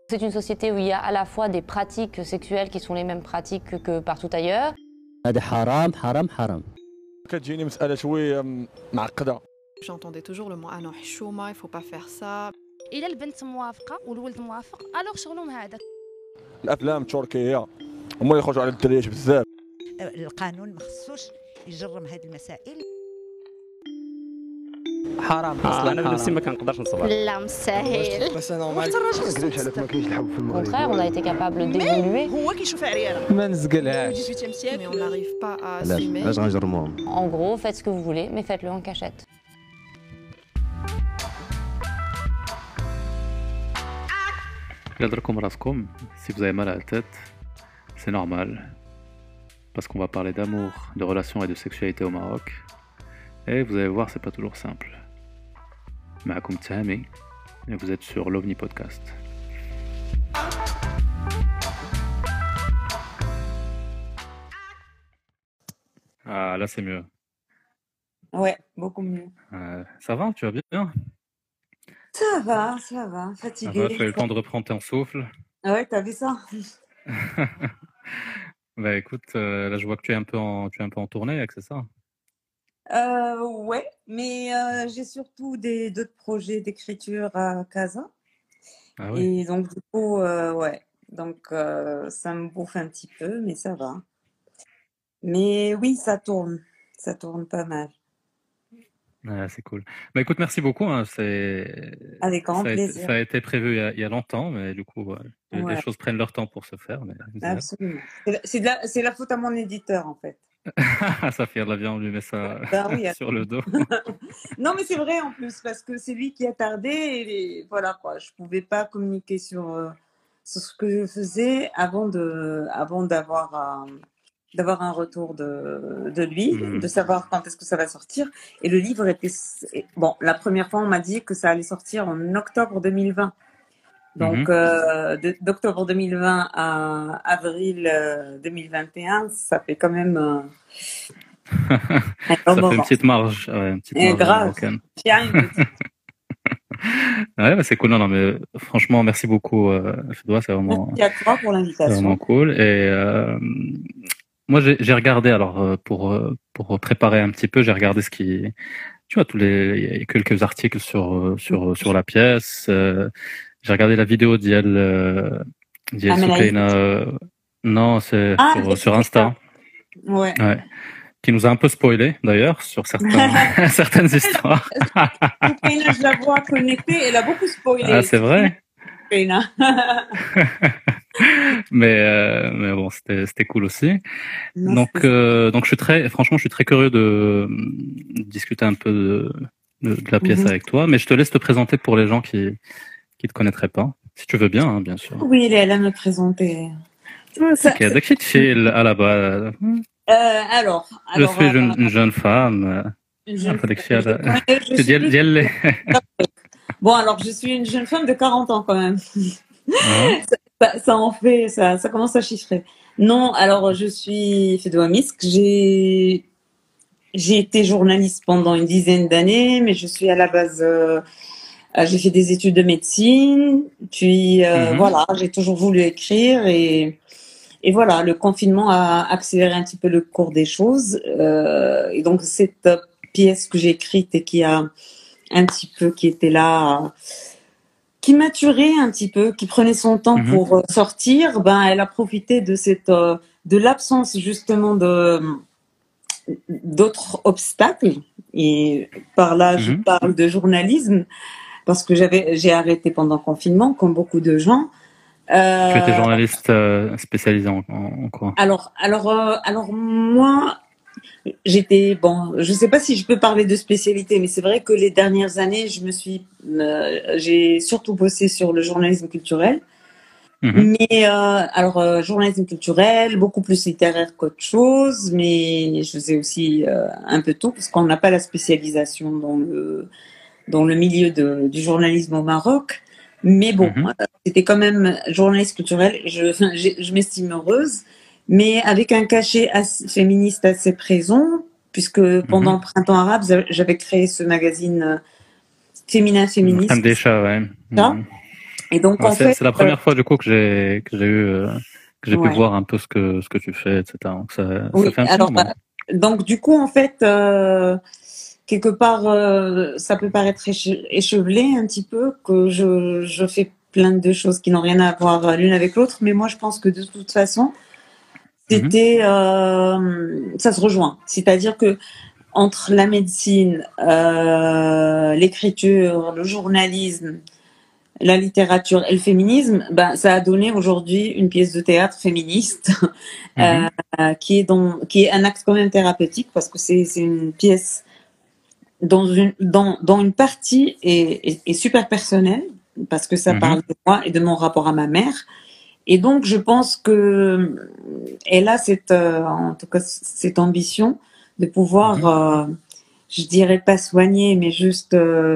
C'est une société où il y a à la fois des pratiques sexuelles qui sont les mêmes pratiques que partout ailleurs. هذا حرام حرام حرام. كتجيني مسألة شوية معقدة. J'entendais toujours le mot ah non حشومة, il faut pas faire ça. إلا البنت موافقة والولد موافق ألوغ شغلهم هذاك. الأفلام التركية هما اللي يخرجوا على الدريات بزاف. القانون ما خصوش يجرم هذه المسائل. حرام اصلا انا بنفسي ما كنقدرش نصبر. لا مستحيل. بس نورمال ما نكذبش عليك ما كاينش الحب في المغرب. Au contraire, on a été capable d'évoluer. هو كيشوف عريانة. ما نزقلهاش. 18e siècle mais on n'arrive pas à assumer. علاش غنجرموهم؟ En gros, faites ce que vous voulez, mais faites-le en cachette. Gadrekom raskom, si vous avez mal à la tête, c'est normal. Parce qu'on va parler d'amour, de relations et de sexualité au Maroc. Et vous allez voir, c'est pas toujours simple. Maakoum Tahami, et vous êtes sur l'OVNI Podcast. Ah, là c'est mieux. Ouais, beaucoup mieux. Ça va, tu vas bien? Ça va, Ça fatiguée. va, tu as eu le temps de reprendre ton souffle? Ouais, t'as vu ça? Bah écoute, là je vois que tu es un peu en tournée, c'est ça? Ouais, mais j'ai surtout d'autres projets d'écriture à Casa. Ah oui. Et donc, du coup, ouais. Donc, ça me bouffe un petit peu, mais ça va. Mais oui, ça tourne pas mal. Ah, c'est cool. Bah écoute, merci beaucoup. Hein, Avec grand plaisir. Ça a été prévu il y a longtemps, mais du coup, les Ouais, choses prennent leur temps pour se faire. Mais absolument. C'est la faute à mon éditeur, en fait. ça fait la vie, on lui met ça Ben oui, sur le dos. non, mais c'est vrai en plus, parce que c'est lui qui a tardé et voilà quoi. Je pouvais pas communiquer sur ce que je faisais avant d'avoir un retour de lui, de savoir quand est-ce que ça va sortir. Et le livre était... Bon, la première fois, on m'a dit que ça allait sortir en octobre 2020. Donc, d'octobre 2020 à avril 2021, ça fait quand même ça fait une petite marge. Ouais, une petite marge grave. Ouais, bah c'est cool. Non, mais franchement, merci beaucoup, Fedwa, c'est vraiment... Merci à toi pour l'invitation. C'est vraiment cool. Et moi, j'ai regardé, alors, pour préparer un petit peu, j'ai regardé tu vois, il y a quelques articles sur la pièce. J'ai regardé la vidéo d'Yel Soukaina. Non, c'est sur Insta. Ouais. Qui nous a un peu spoilé, d'ailleurs, sur certaines histoires. Soukaina, je la vois connectée, elle a beaucoup spoilé. Ah, c'est vrai? mais bon, c'était cool aussi. Donc franchement, je suis très curieux de discuter un peu de la pièce avec toi, mais je te laisse te présenter pour les gens qui te connaîtraient pas, si tu veux bien, hein, bien sûr. Oui, elle a me présenter. Ok, d'accord, tu à la base. Alors, je suis une jeune femme. Bon, alors je suis une jeune femme de 40 ans quand même. Ça commence à chiffrer. Non, alors je suis Fedwa Misk. J'ai été journaliste pendant une dizaine d'années, mais je suis à la base, j'ai fait des études de médecine, puis voilà, j'ai toujours voulu écrire et voilà, le confinement a accéléré un petit peu le cours des choses. Et donc cette pièce que j'ai écrite et qui était là, qui maturait un petit peu, qui prenait son temps pour sortir, elle a profité de l'absence justement d'autres obstacles. Et par là, je parle de journalisme parce que j'ai arrêté pendant le confinement, comme beaucoup de gens. Tu étais journaliste spécialisé en quoi? Alors moi, je sais pas si je peux parler de spécialité, mais c'est vrai que les dernières années, j'ai surtout bossé sur le journalisme culturel. Mais journalisme culturel, beaucoup plus littéraire qu'autre chose, mais je faisais aussi un peu tout, parce qu'on n'a pas la spécialisation dans le milieu du journalisme au Maroc. Mais bon, c'était quand même journaliste culturel. Je m'estime heureuse, mais avec un cachet féministe assez présent, puisque pendant le printemps arabe, j'avais créé ce magazine féministe. Déjà, ouais. Et donc, Ouais, en fait, c'est la première fois du coup que j'ai pu ouais. voir un peu ce que tu fais, etc. Donc ça Oui, fait un petit alors, moment. donc du coup, en fait, quelque part, ça peut paraître échevelé un petit peu, que je fais plein de choses qui n'ont rien à voir l'une avec l'autre, mais moi, je pense que de toute façon, c'était, ça se rejoint. C'est-à-dire que entre la médecine, l'écriture, le journalisme, la littérature et le féminisme, ben, ça a donné aujourd'hui une pièce de théâtre féministe qui est un acte quand même thérapeutique, parce que c'est une pièce dont une partie est super personnelle, parce que ça parle de moi et de mon rapport à ma mère. Et donc, je pense que elle a en tout cas, cette ambition de pouvoir, je dirais pas soigner, mais juste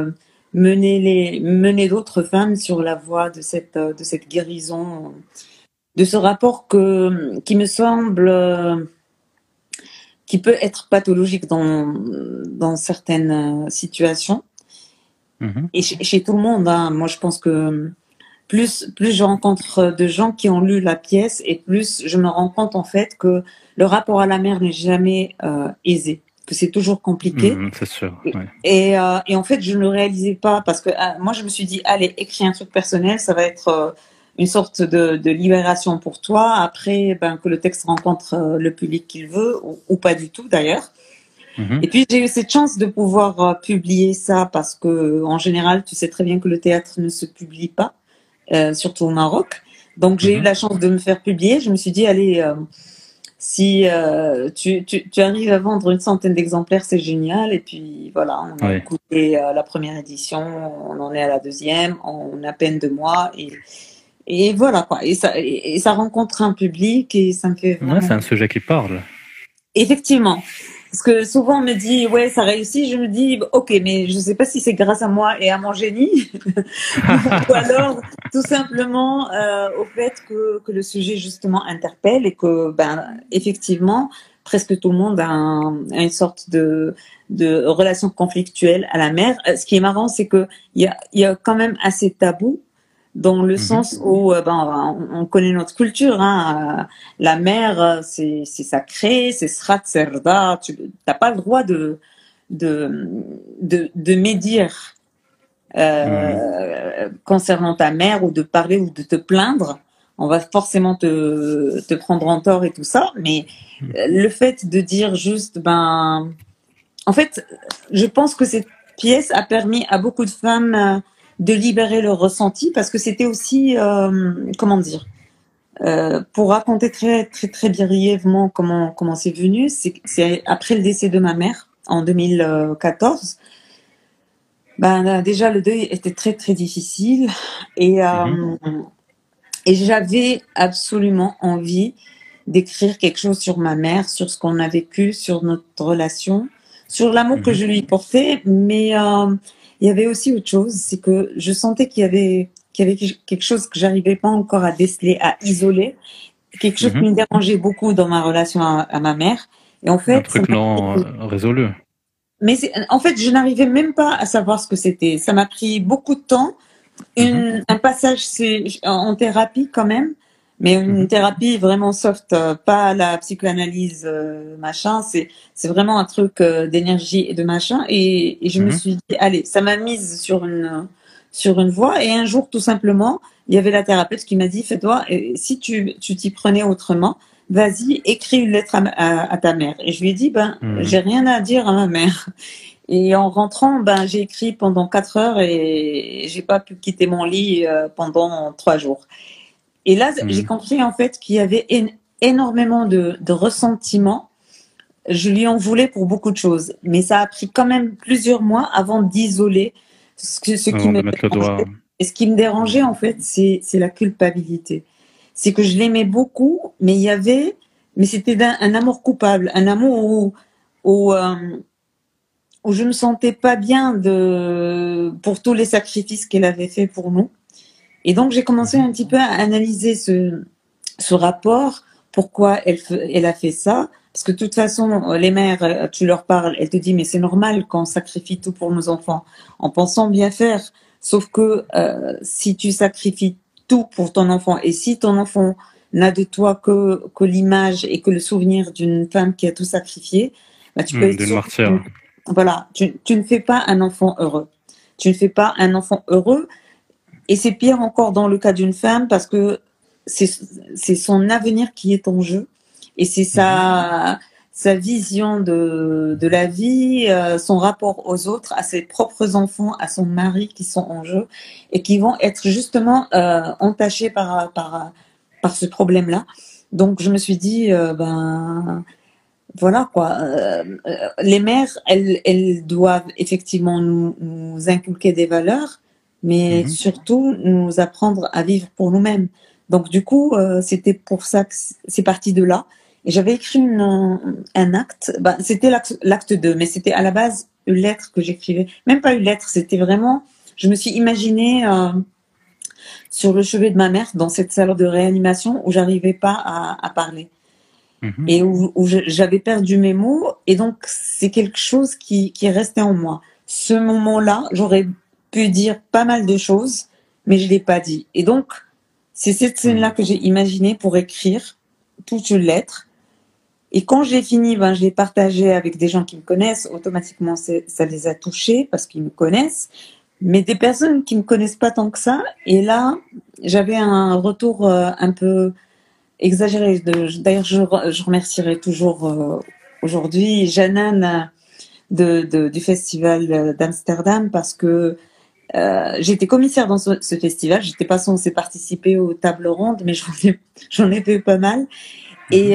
mener d'autres femmes sur la voie de cette guérison, de ce rapport qui me semble qui peut être pathologique dans certaines situations et chez tout le monde, hein. Moi, je pense que plus je rencontre de gens qui ont lu la pièce, et plus je me rends compte en fait que le rapport à la mère n'est jamais aisé, que c'est toujours compliqué. C'est sûr. Ouais. Et en fait, je ne le réalisais pas, parce que moi, je me suis dit, allez, écris un truc personnel, ça va être une sorte de libération pour toi. Après, ben, que le texte rencontre le public qu'il veut, ou pas du tout d'ailleurs. Et puis, j'ai eu cette chance de pouvoir publier ça, parce que en général, tu sais très bien que le théâtre ne se publie pas. Surtout au Maroc. Donc, j'ai eu la chance de me faire publier. Je me suis dit, allez, si tu arrives à vendre une centaine d'exemplaires, c'est génial. Et puis, voilà, on a écouté la première édition, on en est à la deuxième, on a à peine 2 mois. Et voilà, quoi. Et ça rencontre un public, et ça me fait vraiment... Ouais, c'est un sujet qui parle. Effectivement. Parce que souvent on me dit, ouais, ça réussit. Je me dis, ok, mais je sais pas si c'est grâce à moi et à mon génie, ou alors tout simplement au fait que le sujet justement interpelle, et que, ben, effectivement, presque tout le monde a une sorte de relation conflictuelle à la mère. Ce qui est marrant, c'est que il y a quand même assez tabou, dans le sens où on connaît notre culture, hein. La mère, c'est sacré, c'est srat serda, tu n'as pas le droit de médire concernant ta mère, ou de parler, ou de te plaindre. On va forcément te prendre en tort et tout ça, mais le fait de dire juste, en fait, je pense que cette pièce a permis à beaucoup de femmes de libérer leur ressenti, parce que c'était aussi, comment dire, pour raconter très très très brièvement comment c'est venu, c'est après le décès de ma mère en 2014. Ben, déjà le deuil était très très difficile, et j'avais absolument envie d'écrire quelque chose sur ma mère, sur ce qu'on a vécu, sur notre relation, sur l'amour que je lui portais, mais il y avait aussi autre chose, c'est que je sentais qu'il y avait quelque chose que j'arrivais pas encore à déceler, à isoler, quelque chose qui me dérangeait beaucoup dans ma relation à ma mère. Et en fait, un truc non résolu. Mais en fait, je n'arrivais même pas à savoir ce que c'était. Ça m'a pris beaucoup de temps. Un passage, c'est en thérapie quand même, mais une thérapie vraiment soft, pas la psychanalyse machin. C'est vraiment un truc d'énergie et de machin. Et je me suis dit, allez, ça m'a mise sur une voie. Et un jour, tout simplement, il y avait la thérapeute qui m'a dit, fais-toi, si tu t'y prenais autrement, vas-y, écris une lettre à ta mère. Et je lui ai dit, j'ai rien à dire à ma mère. Et en rentrant, j'ai écrit pendant 4 heures, et j'ai pas pu quitter mon lit pendant 3 jours. Et là, j'ai compris en fait qu'il y avait énormément de ressentiments. Je lui en voulais pour beaucoup de choses, mais ça a pris quand même plusieurs mois avant d'isoler ce qui me dérangeait. Et ce qui me dérangeait en fait, c'est la culpabilité. C'est que je l'aimais beaucoup, mais c'était un amour coupable, un amour où je me sentais pas bien pour tous les sacrifices qu'elle avait fait pour nous. Et donc j'ai commencé un petit peu à analyser ce rapport, pourquoi elle a fait ça. Parce que de toute façon, les mères, tu leur parles, elles te disent mais c'est normal qu'on sacrifie tout pour nos enfants, en pensant bien faire. Sauf que si tu sacrifies tout pour ton enfant, et si ton enfant n'a de toi que l'image et que le souvenir d'une femme qui a tout sacrifié, bah, tu peux être D'une sûr martyre. voilà, tu ne fais pas un enfant heureux. Tu ne fais pas un enfant heureux. Et c'est pire encore dans le cas d'une femme parce que c'est son avenir qui est en jeu. Et c'est sa vision de la vie, son rapport aux autres, à ses propres enfants, à son mari qui sont en jeu et qui vont être justement entachés par ce problème-là. Donc je me suis dit, voilà quoi. Les mères, elles doivent effectivement nous inculquer des valeurs, mais surtout nous apprendre à vivre pour nous-mêmes. Donc du coup, c'était pour ça que c'est parti de là. Et j'avais écrit un acte. C'était l'acte 2, mais c'était à la base une lettre que j'écrivais. Même pas une lettre, c'était vraiment. Je me suis imaginée sur le chevet de ma mère dans cette salle de réanimation où j'arrivais pas à parler. Et où j'avais perdu mes mots, et donc c'est quelque chose qui est resté en moi. Ce moment-là, j'aurais pu dire pas mal de choses, mais je l'ai pas dit. Et donc, c'est cette scène-là que j'ai imaginée pour écrire toute une lettre. Et quand j'ai fini, je l'ai partagée avec des gens qui me connaissent. Automatiquement, ça les a touchés parce qu'ils me connaissent. Mais des personnes qui me connaissent pas tant que ça. Et là, j'avais un retour un peu exagéré. D'ailleurs, je remercierai toujours aujourd'hui Jeannane du festival d'Amsterdam parce que j'étais commissaire dans ce festival. J'étais pas censée participer aux tables rondes, mais j'en ai fait pas mal. Et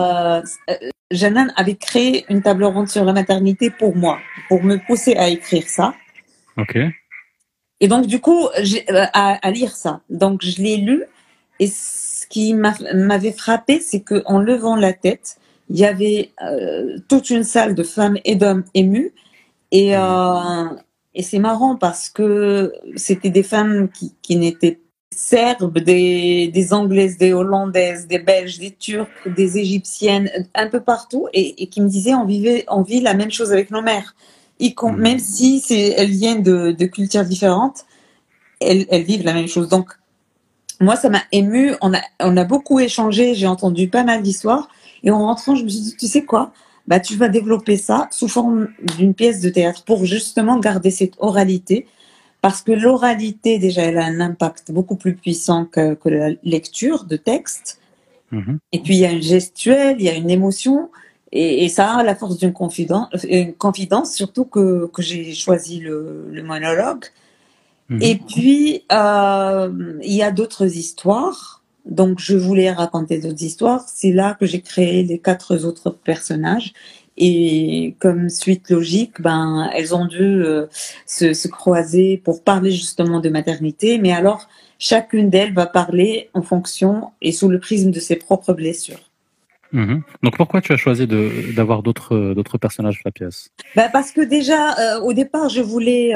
Jeannane avait créé une table ronde sur la maternité pour moi, pour me pousser à écrire ça. Ok. Et donc du coup, à lire ça. Donc je l'ai lu, et ce qui m'avait frappé, c'est que en levant la tête, il y avait toute une salle de femmes et d'hommes émus, et c'est marrant parce que c'était des femmes qui n'étaient Serbes, des Anglaises, des Hollandaises, des Belges, des Turcs, des Égyptiennes, un peu partout, et qui me disaient on vit la même chose avec nos mères. Même si elles viennent de cultures différentes, elles vivent la même chose. Donc, moi, ça m'a émue. On a beaucoup échangé. J'ai entendu pas mal d'histoires. Et en rentrant, je me suis dit, tu sais quoi? Tu vas développer ça sous forme d'une pièce de théâtre pour justement garder cette oralité. Parce que l'oralité, déjà, elle a un impact beaucoup plus puissant que la lecture de texte. Et puis, il y a une gestuelle, il y a une émotion. Et ça a la force d'une confidence, surtout que j'ai choisi le monologue. Et puis, il y a d'autres histoires. Donc, je voulais raconter d'autres histoires. C'est là que j'ai créé les 4 autres personnages. Et comme suite logique, elles ont dû se croiser pour parler justement de maternité. Mais alors, chacune d'elles va parler en fonction et sous le prisme de ses propres blessures. Donc pourquoi tu as choisi d'avoir d'autres personnages dans la pièce? Parce que déjà, au départ, je voulais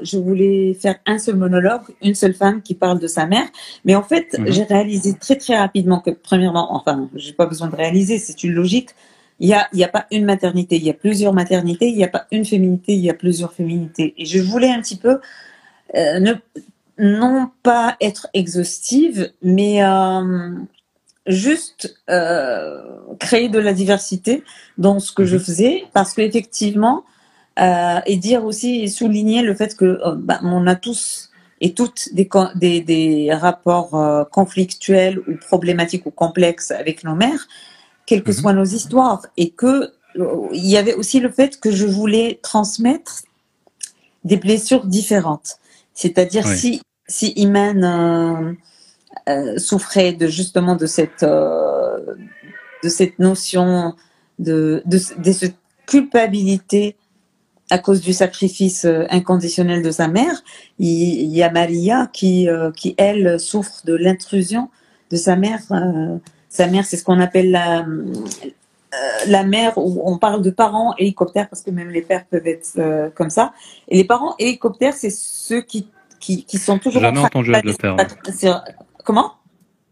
faire un seul monologue, une seule femme qui parle de sa mère. Mais en fait, j'ai réalisé très très rapidement que premièrement, enfin, j'ai pas besoin de réaliser, c'est une logique. Il y a pas une maternité, il y a plusieurs maternités. Il y a pas une féminité, il y a plusieurs féminités. Et je voulais un petit peu non pas être exhaustive, mais juste créer de la diversité dans ce que je faisais, parce qu'effectivement, et dire aussi et souligner le fait que on a tous et toutes des rapports conflictuels ou problématiques ou complexes avec nos mères, quelles que soient nos histoires, et que il y avait aussi le fait que je voulais transmettre des blessures différentes. C'est-à-dire si Iman souffrait justement de cette notion de cette culpabilité à cause du sacrifice inconditionnel de sa mère, il y a Maria qui elle souffre de l'intrusion de sa mère. Sa mère, c'est ce qu'on appelle la mère, où on parle de parents hélicoptères, parce que même les pères peuvent être comme ça. Et les parents hélicoptères, c'est ceux qui sont toujours Jamais entendu le terme. Comment?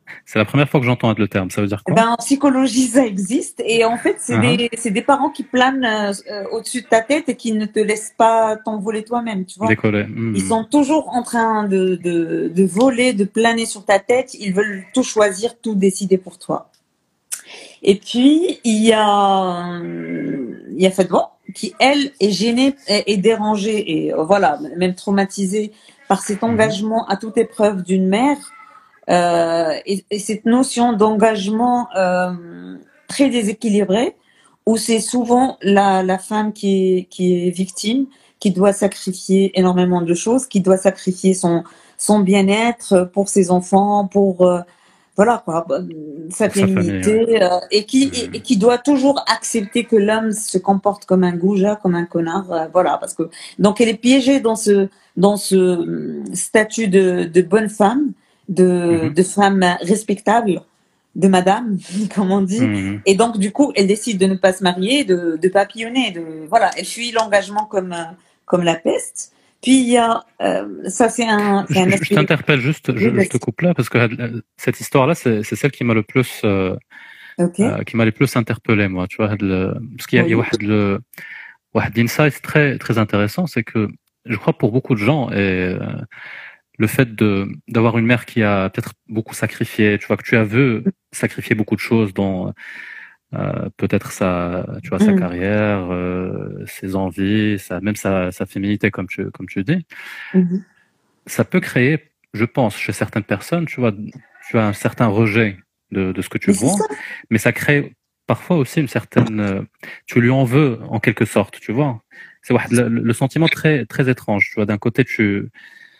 C'est la première fois que j'entends le terme. Ça veut dire quoi? Ben, en psychologie, ça existe. Et en fait, c'est des parents qui planent au-dessus de ta tête et qui ne te laissent pas t'envoler toi-même, tu vois. Décoller. Ils sont toujours en train de voler, de planer sur ta tête. Ils veulent tout choisir, tout décider pour toi. Et puis, il y a Fadwa, qui, elle, est gênée et dérangée et voilà, même traumatisée par cet engagement à toute épreuve d'une mère. Et cette notion d'engagement très déséquilibrée, où c'est souvent la femme qui est victime, qui doit sacrifier énormément de choses, qui doit sacrifier son bien-être pour ses enfants, pour voilà quoi, sa féminité, et qui doit toujours accepter que l'homme se comporte comme un goujat, comme un connard, voilà, parce que donc elle est piégée dans ce statut de bonne femme, de femme respectable, de madame, comme on dit, et donc du coup elle décide de ne pas se marier, de papillonner, voilà, elle fuit l'engagement comme la peste. Puis il y a ça, c'est un aspect. Je t'interpelle juste, je te coupe là parce que cette histoire-là, c'est celle qui m'a le plus interpellé, moi, tu vois, parce qu'il y a واحد insight très très intéressant, c'est que je crois pour beaucoup de gens et le fait d'avoir une mère qui a peut-être beaucoup sacrifié, tu vois, que tu as vu sacrifier beaucoup de choses dans peut-être sa carrière, ses envies, même sa féminité, comme tu dis. Ça peut créer, je pense, chez certaines personnes, tu vois, tu as un certain rejet de ce que tu vois, mais ça crée parfois aussi une certaine, tu lui en veux en quelque sorte, tu vois. C'est le sentiment très très étrange, tu vois. D'un côté, tu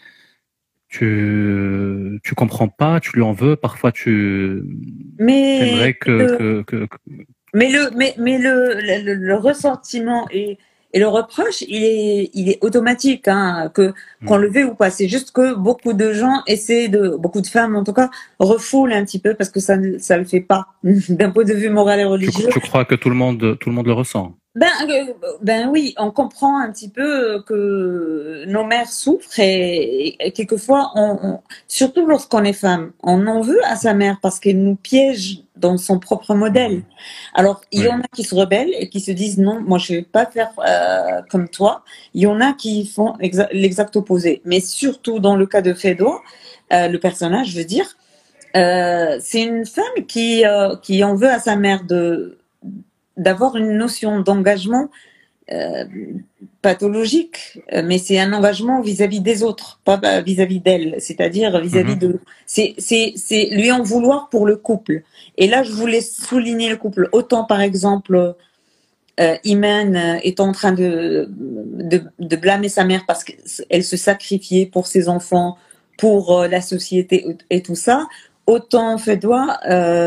comprends pas, tu lui en veux, parfois t'aimerais mais le ressentiment et le reproche, il est automatique, hein, qu'on le veuille ou pas. C'est juste que beaucoup de gens beaucoup de femmes en tout cas, refoulent un petit peu parce que ça le fait pas d'un point de vue moral et religieux. Tu crois que tout le monde le ressent? Ben oui, on comprend un petit peu que nos mères souffrent et quelquefois, surtout lorsqu'on est femme, on en veut à sa mère parce qu'elle nous piège dans son propre modèle. Alors, il y en a qui se rebellent et qui se disent non, moi je vais pas faire comme toi. Il y en a qui font l'exact opposé. Mais surtout dans le cas de Fedwa, le personnage, je veux dire, c'est une femme qui en veut à sa mère d'avoir une notion d'engagement pathologique, mais c'est un engagement vis-à-vis des autres, pas vis-à-vis d'elle, c'est-à-dire vis-à-vis de... C'est lui en vouloir pour le couple. Et là, je voulais souligner le couple. Autant, par exemple, Iman est en train de blâmer sa mère parce qu'elle se sacrifiait pour ses enfants, pour la société et tout ça. Autant Fedwa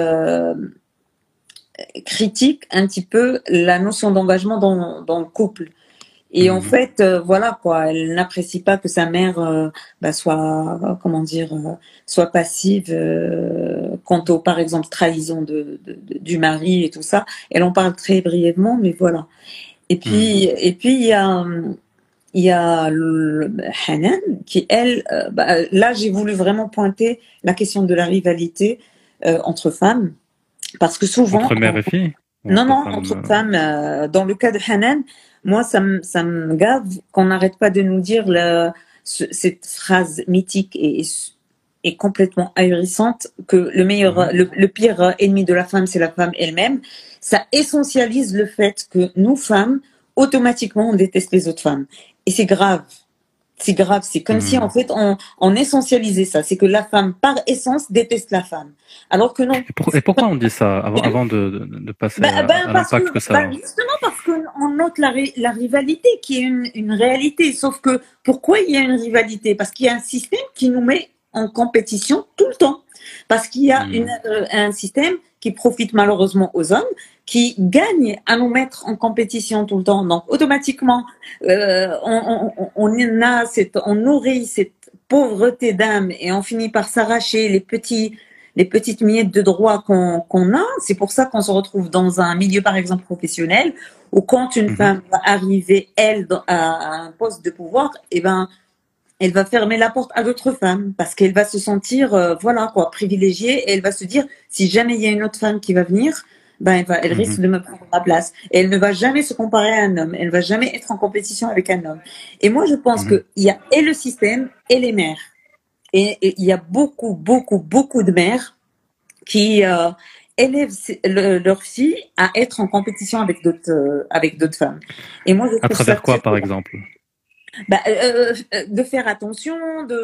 critique un petit peu la notion d'engagement dans le couple. Et en fait, voilà quoi, elle n'apprécie pas que sa mère soit, comment dire, soit passive quant au, par exemple, trahison du mari et tout ça. Elle en parle très brièvement, mais voilà. Et puis il y a Hanan qui, elle, là j'ai voulu vraiment pointer la question de la rivalité entre femmes, parce que souvent entre mère et fille. Non, entre femmes. Dans le cas de Hanan, moi, ça me gave qu'on n'arrête pas de nous dire cette phrase mythique et complètement ahurissante que le pire ennemi de la femme, c'est la femme elle-même. Ça essentialise le fait que nous, femmes, automatiquement, on déteste les autres femmes. Et c'est grave. C'est grave. C'est comme si, en fait, on essentialisait ça. C'est que la femme, par essence, déteste la femme. Alors que non. Et pourquoi on dit ça avant de passer à l'impact que ça a? Justement parce qu'on note la rivalité qui est une réalité. Sauf que, pourquoi il y a une rivalité? Parce qu'il y a un système qui nous met en compétition tout le temps. Parce qu'il y a un système qui profite malheureusement aux hommes, qui gagne à nous mettre en compétition tout le temps. Donc, automatiquement, on nourrit cette pauvreté d'âme et on finit par s'arracher les petites miettes de droit qu'on a. C'est pour ça qu'on se retrouve dans un milieu, par exemple, professionnel, où quand une femme va arriver, elle, à un poste de pouvoir, elle va fermer la porte à d'autres femmes parce qu'elle va se sentir, voilà quoi, privilégiée et elle va se dire, si jamais il y a une autre femme qui va venir, ben elle risque de me prendre ma place. Et elle ne va jamais se comparer à un homme, elle ne va jamais être en compétition avec un homme. Et moi, je pense qu'il y a et le système et les mères. Et il y a beaucoup, beaucoup, beaucoup de mères qui élèvent leurs filles à être en compétition avec d'autres femmes. Et moi, je trouve À travers ça quoi, par exemple? de faire attention,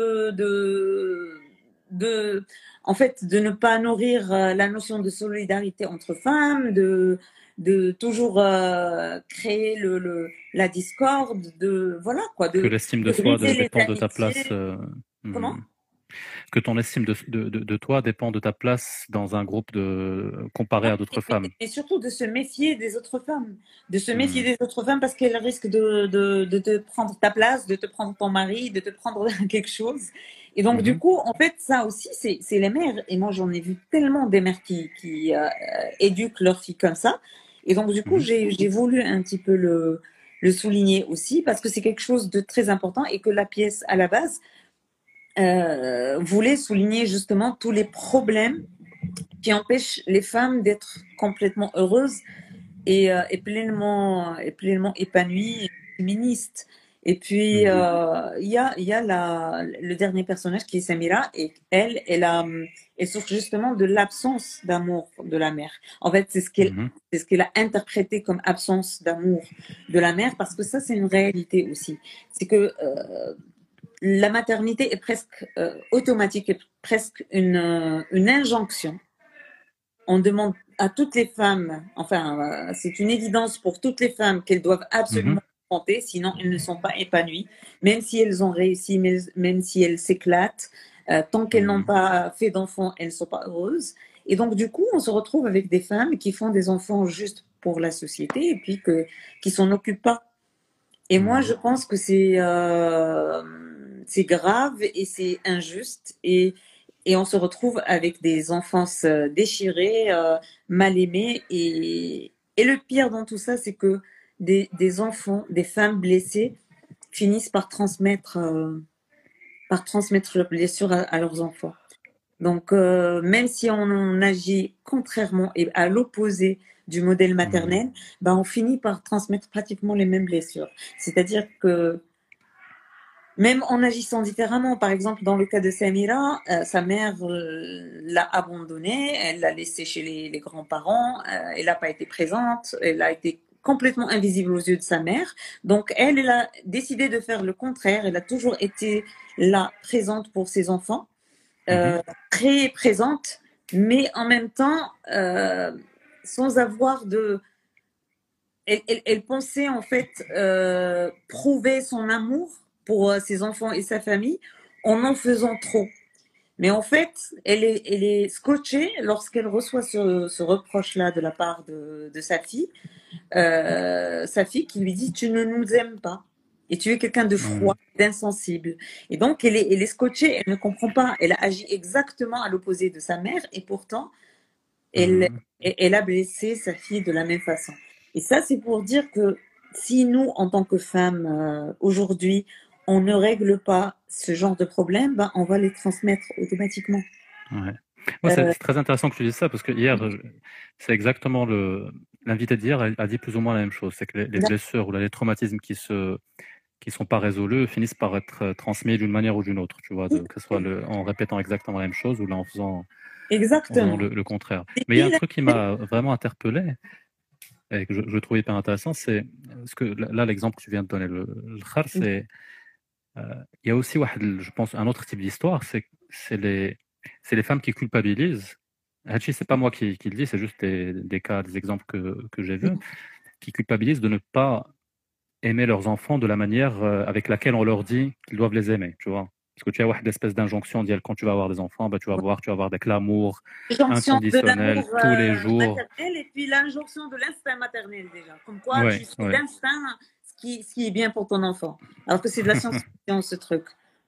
en fait, de ne pas nourrir la notion de solidarité entre femmes, de toujours créer la discorde, voilà quoi, Que l'estime de soi briser les dépend de ta amitiés. place. Comment? Que ton estime de toi dépend de ta place dans un groupe comparé à d'autres femmes. Et surtout de se méfier des autres femmes. De se méfier des autres femmes parce qu'elles risquent de te prendre ta place, de te prendre ton mari, de te prendre quelque chose. Et donc, du coup, en fait, ça aussi, c'est les mères. Et moi, j'en ai vu tellement des mères qui éduquent leurs filles comme ça. Et donc, du coup, j'ai voulu un petit peu le souligner aussi parce que c'est quelque chose de très important et que la pièce, à la base, voulait souligner justement tous les problèmes qui empêchent les femmes d'être complètement heureuses et pleinement épanouies, et féministes. Et puis il y a le dernier personnage qui est Samira et elle souffre justement de l'absence d'amour de la mère. En fait, c'est ce qu'elle a interprété comme absence d'amour de la mère parce que ça c'est une réalité aussi. C'est que la maternité est presque automatique, est presque une injonction. On demande à toutes les femmes, enfin, c'est une évidence pour toutes les femmes qu'elles doivent absolument compter, sinon elles ne sont pas épanouies, même si elles ont réussi, même si elles s'éclatent, tant qu'elles n'ont pas fait d'enfants, elles ne sont pas heureuses. Et donc, du coup, on se retrouve avec des femmes qui font des enfants juste pour la société et puis qui s'en occupent pas. Et moi, je pense que c'est grave et c'est injuste et on se retrouve avec des enfances déchirées, mal aimées et le pire dans tout ça, c'est que des enfants, des femmes blessées finissent par transmettre leurs blessures à leurs enfants. Donc, même si on agit contrairement et à l'opposé du modèle maternel, on finit par transmettre pratiquement les mêmes blessures. C'est-à-dire que même en agissant différemment, par exemple, dans le cas de Samira, sa mère l'a abandonnée, elle l'a laissée chez les grands-parents, elle n'a pas été présente, elle a été complètement invisible aux yeux de sa mère. Donc, elle a décidé de faire le contraire. Elle a toujours été là, présente pour ses enfants, très présente, mais en même temps, sans avoir de... Elle pensait en fait prouver son amour pour ses enfants et sa famille en faisant trop. Mais en fait, elle est scotchée lorsqu'elle reçoit ce reproche-là de la part de sa fille qui lui dit « tu ne nous aimes pas et tu es quelqu'un de froid, d'insensible ». Et donc, elle est scotchée, elle ne comprend pas, elle a agi exactement à l'opposé de sa mère et pourtant, elle a blessé sa fille de la même façon. Et ça, c'est pour dire que si nous, en tant que femmes, aujourd'hui, on ne règle pas ce genre de problème, on va les transmettre automatiquement. Ouais. Moi, c'est très intéressant que tu dises ça, parce que hier, c'est exactement l'invité d'hier a dit plus ou moins la même chose. C'est que les blessures ou les traumatismes qui sont pas résolus finissent par être transmis d'une manière ou d'une autre, tu vois, que ce soit en répétant exactement la même chose ou là en faisant le contraire. Mais il y a un truc qui m'a vraiment interpellé et que je trouve hyper intéressant, c'est ce que là, l'exemple que tu viens de donner, le khar, c'est il y a aussi, je pense, un autre type d'histoire, c'est les femmes qui culpabilisent. Hachi, c'est pas moi qui le dis, c'est juste des cas, des exemples que j'ai vus, qui culpabilisent de ne pas aimer leurs enfants de la manière avec laquelle on leur dit qu'ils doivent les aimer, tu vois. Parce que tu as une espèce d'injonction d'y aller quand tu vas avoir des enfants, tu vas avoir de l'amour inconditionnel tous les jours. Et puis l'injonction de l'instinct maternel déjà. Comme quoi, tu suis l'instinct, ce qui est bien pour ton enfant. Alors que c'est de la science-fiction, ce truc.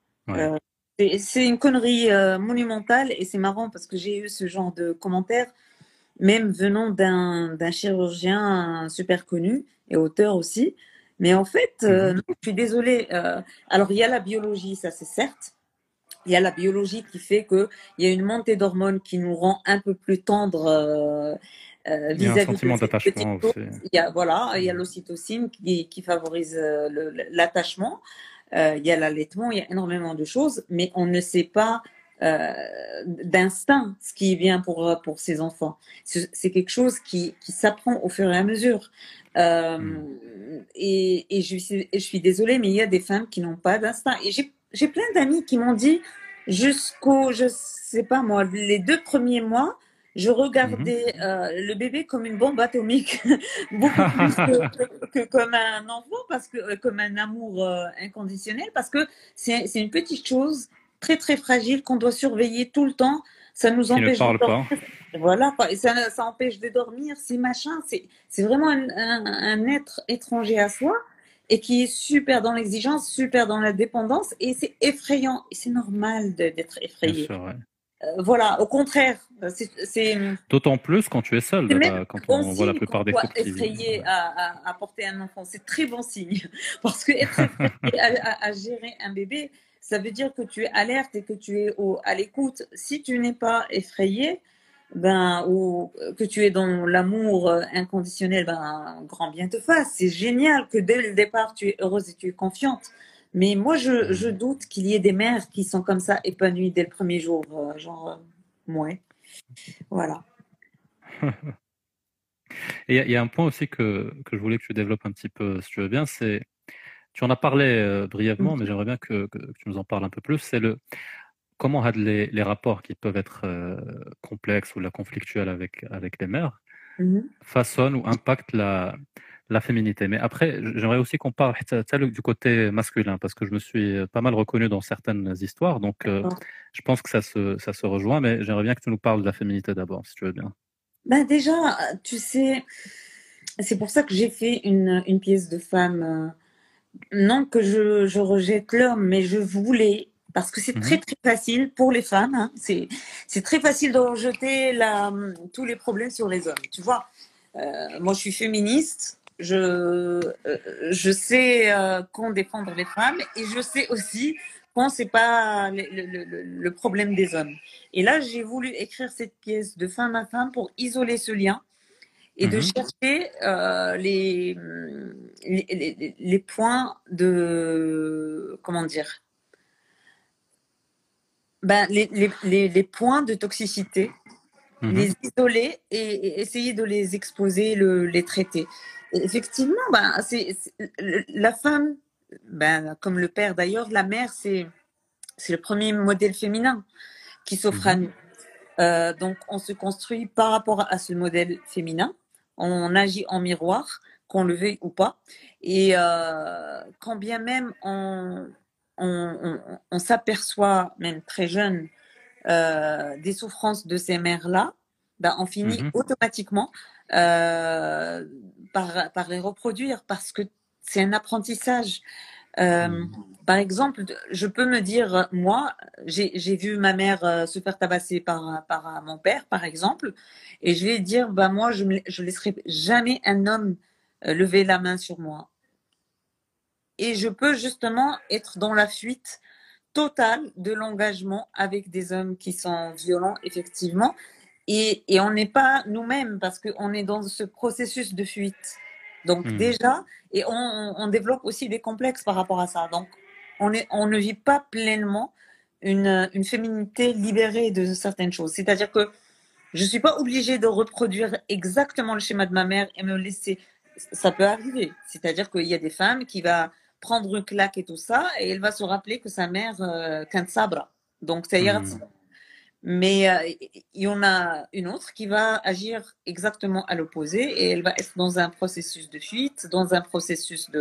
C'est une connerie monumentale et c'est marrant parce que j'ai eu ce genre de commentaires, même venant d'un chirurgien super connu et auteur aussi, Mais en fait, non, je suis désolée. Alors, il y a la biologie, ça c'est certes. Il y a la biologie qui fait qu'il y a une montée d'hormones qui nous rend un peu plus tendres Il y a un vis-à-vis de sentiment ces petites d'attachement choses. aussi. Il y a l'ocytocine qui favorise l'attachement. Il y a l'allaitement, il y a énormément de choses, mais on ne sait pas d'instinct ce qui est bien pour ces enfants. C'est quelque chose qui s'apprend au fur et à mesure. Et je suis désolée, mais il y a des femmes qui n'ont pas d'instinct. Et j'ai plein d'amis qui m'ont dit, je sais pas moi, les 2 premiers mois, je regardais le bébé comme une bombe atomique, beaucoup plus que comme un enfant, parce que comme un amour inconditionnel, parce que c'est une petite chose très très fragile qu'on doit surveiller tout le temps. Ça nous empêche Qui ne de parle dormir. Voilà, quoi. Et ça empêche de dormir, c'est machin. C'est vraiment un être étranger à soi et qui est super dans l'exigence, super dans la dépendance, et c'est effrayant. Et c'est normal d'être effrayé. Bien sûr, ouais. Voilà, au contraire, c'est D'autant plus quand tu es seul, même quand bon on voit la signe plupart qu'on des soit couples qui... effrayé à porter un enfant. C'est très bon signe. Parce que être effrayé à gérer un bébé, ça veut dire que tu es alerte et que tu es à l'écoute. Si tu n'es pas effrayé, ou que tu es dans l'amour inconditionnel, grand bien te fasse. C'est génial que dès le départ, tu es heureuse et tu es confiante. Mais moi, je doute qu'il y ait des mères qui sont comme ça épanouies dès le premier jour. Ouais. Voilà. Et il y a un point aussi que je voulais que tu développes un petit peu, si tu veux bien, c'est, tu en as parlé brièvement, mais j'aimerais bien que tu nous en parles un peu plus, c'est comment les rapports qui peuvent être complexes ou conflictuels avec les mères façonnent ou impactent la féminité. Mais après, j'aimerais aussi qu'on parle du côté masculin, parce que je me suis pas mal reconnu dans certaines histoires, donc je pense que ça se rejoint, mais j'aimerais bien que tu nous parles de la féminité d'abord, si tu veux bien. Déjà, tu sais, c'est pour ça que j'ai fait une pièce de femme. Non que je rejette l'homme, mais je voulais, parce que c'est très très facile pour les femmes, hein, c'est très facile de rejeter tous les problèmes sur les hommes. Tu vois, moi je suis féministe, je sais qu'on défendre les femmes, et je sais aussi qu'on c'est pas le problème des hommes. Et là, j'ai voulu écrire cette pièce de femme à femme pour isoler ce lien et de chercher les points de, comment dire, les points de toxicité, les isoler et essayer de les exposer, les traiter. Et effectivement, la femme, comme le père d'ailleurs, la mère, c'est le premier modèle féminin qui s'offre à nous. Donc, on se construit par rapport à ce modèle féminin. On agit en miroir, qu'on le veuille ou pas. Et quand bien même on s'aperçoit, même très jeune, des souffrances de ces mères-là, on finit automatiquement par les reproduire, parce que c'est un apprentissage. Par exemple, je peux me dire, moi, j'ai vu ma mère se faire tabasser par mon père, par exemple, et je vais dire, moi, je laisserai jamais un homme lever la main sur moi. Et je peux justement être dans la fuite totale de l'engagement avec des hommes qui sont violents, effectivement, et on n'est pas nous-mêmes, parce qu'on est dans ce processus de fuite. Donc déjà, et on développe aussi des complexes par rapport à ça. Donc on ne vit pas pleinement une féminité libérée de certaines choses. C'est-à-dire que je suis pas obligée de reproduire exactement le schéma de ma mère et me laisser. Ça peut arriver. C'est-à-dire qu'il y a des femmes qui va prendre une claque et tout ça, et elle va se rappeler que sa mère qu'un sabra. Donc ça ira. Mais il y en a une autre qui va agir exactement à l'opposé, et elle va être dans un processus de fuite, dans un processus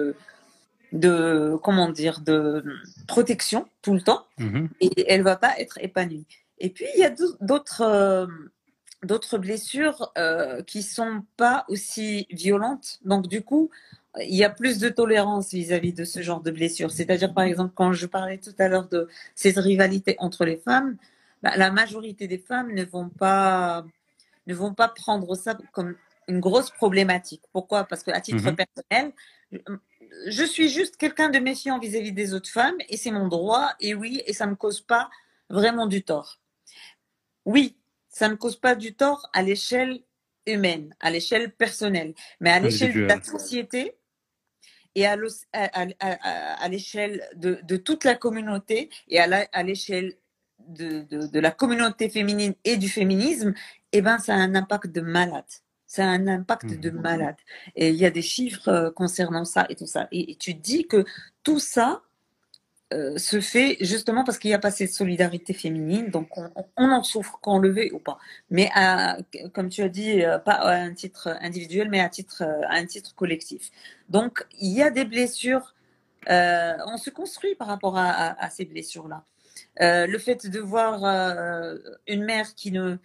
de comment dire, de protection tout le temps, et elle va pas être épanouie. Et puis il y a d'autres blessures qui sont pas aussi violentes. Donc du coup, il y a plus de tolérance vis-à-vis de ce genre de blessures. C'est-à-dire, par exemple, quand je parlais tout à l'heure de cette rivalité entre les femmes, la majorité des femmes ne vont pas prendre ça comme une grosse problématique. Pourquoi ? Parce qu'à titre personnel, je suis juste quelqu'un de méfiant vis-à-vis des autres femmes et c'est mon droit et oui, et ça me cause pas vraiment du tort. Oui, ça ne cause pas du tort à l'échelle humaine, à l'échelle personnelle, mais à l'échelle de la société et à l'échelle de toute la communauté et à l'échelle de la communauté féminine et du féminisme, eh ben, ça a un impact de malade. Ça a un impact de malade. Et il y a des chiffres concernant ça et tout ça. Et tu dis que tout ça se fait justement parce qu'il n'y a pas cette solidarité féminine. Donc, on en souffre, qu'on le veuille ou pas. Mais comme tu as dit, pas à un titre individuel, mais à un titre collectif. Donc, il y a des blessures. On se construit par rapport à ces blessures-là. Le fait de voir une mère qui ne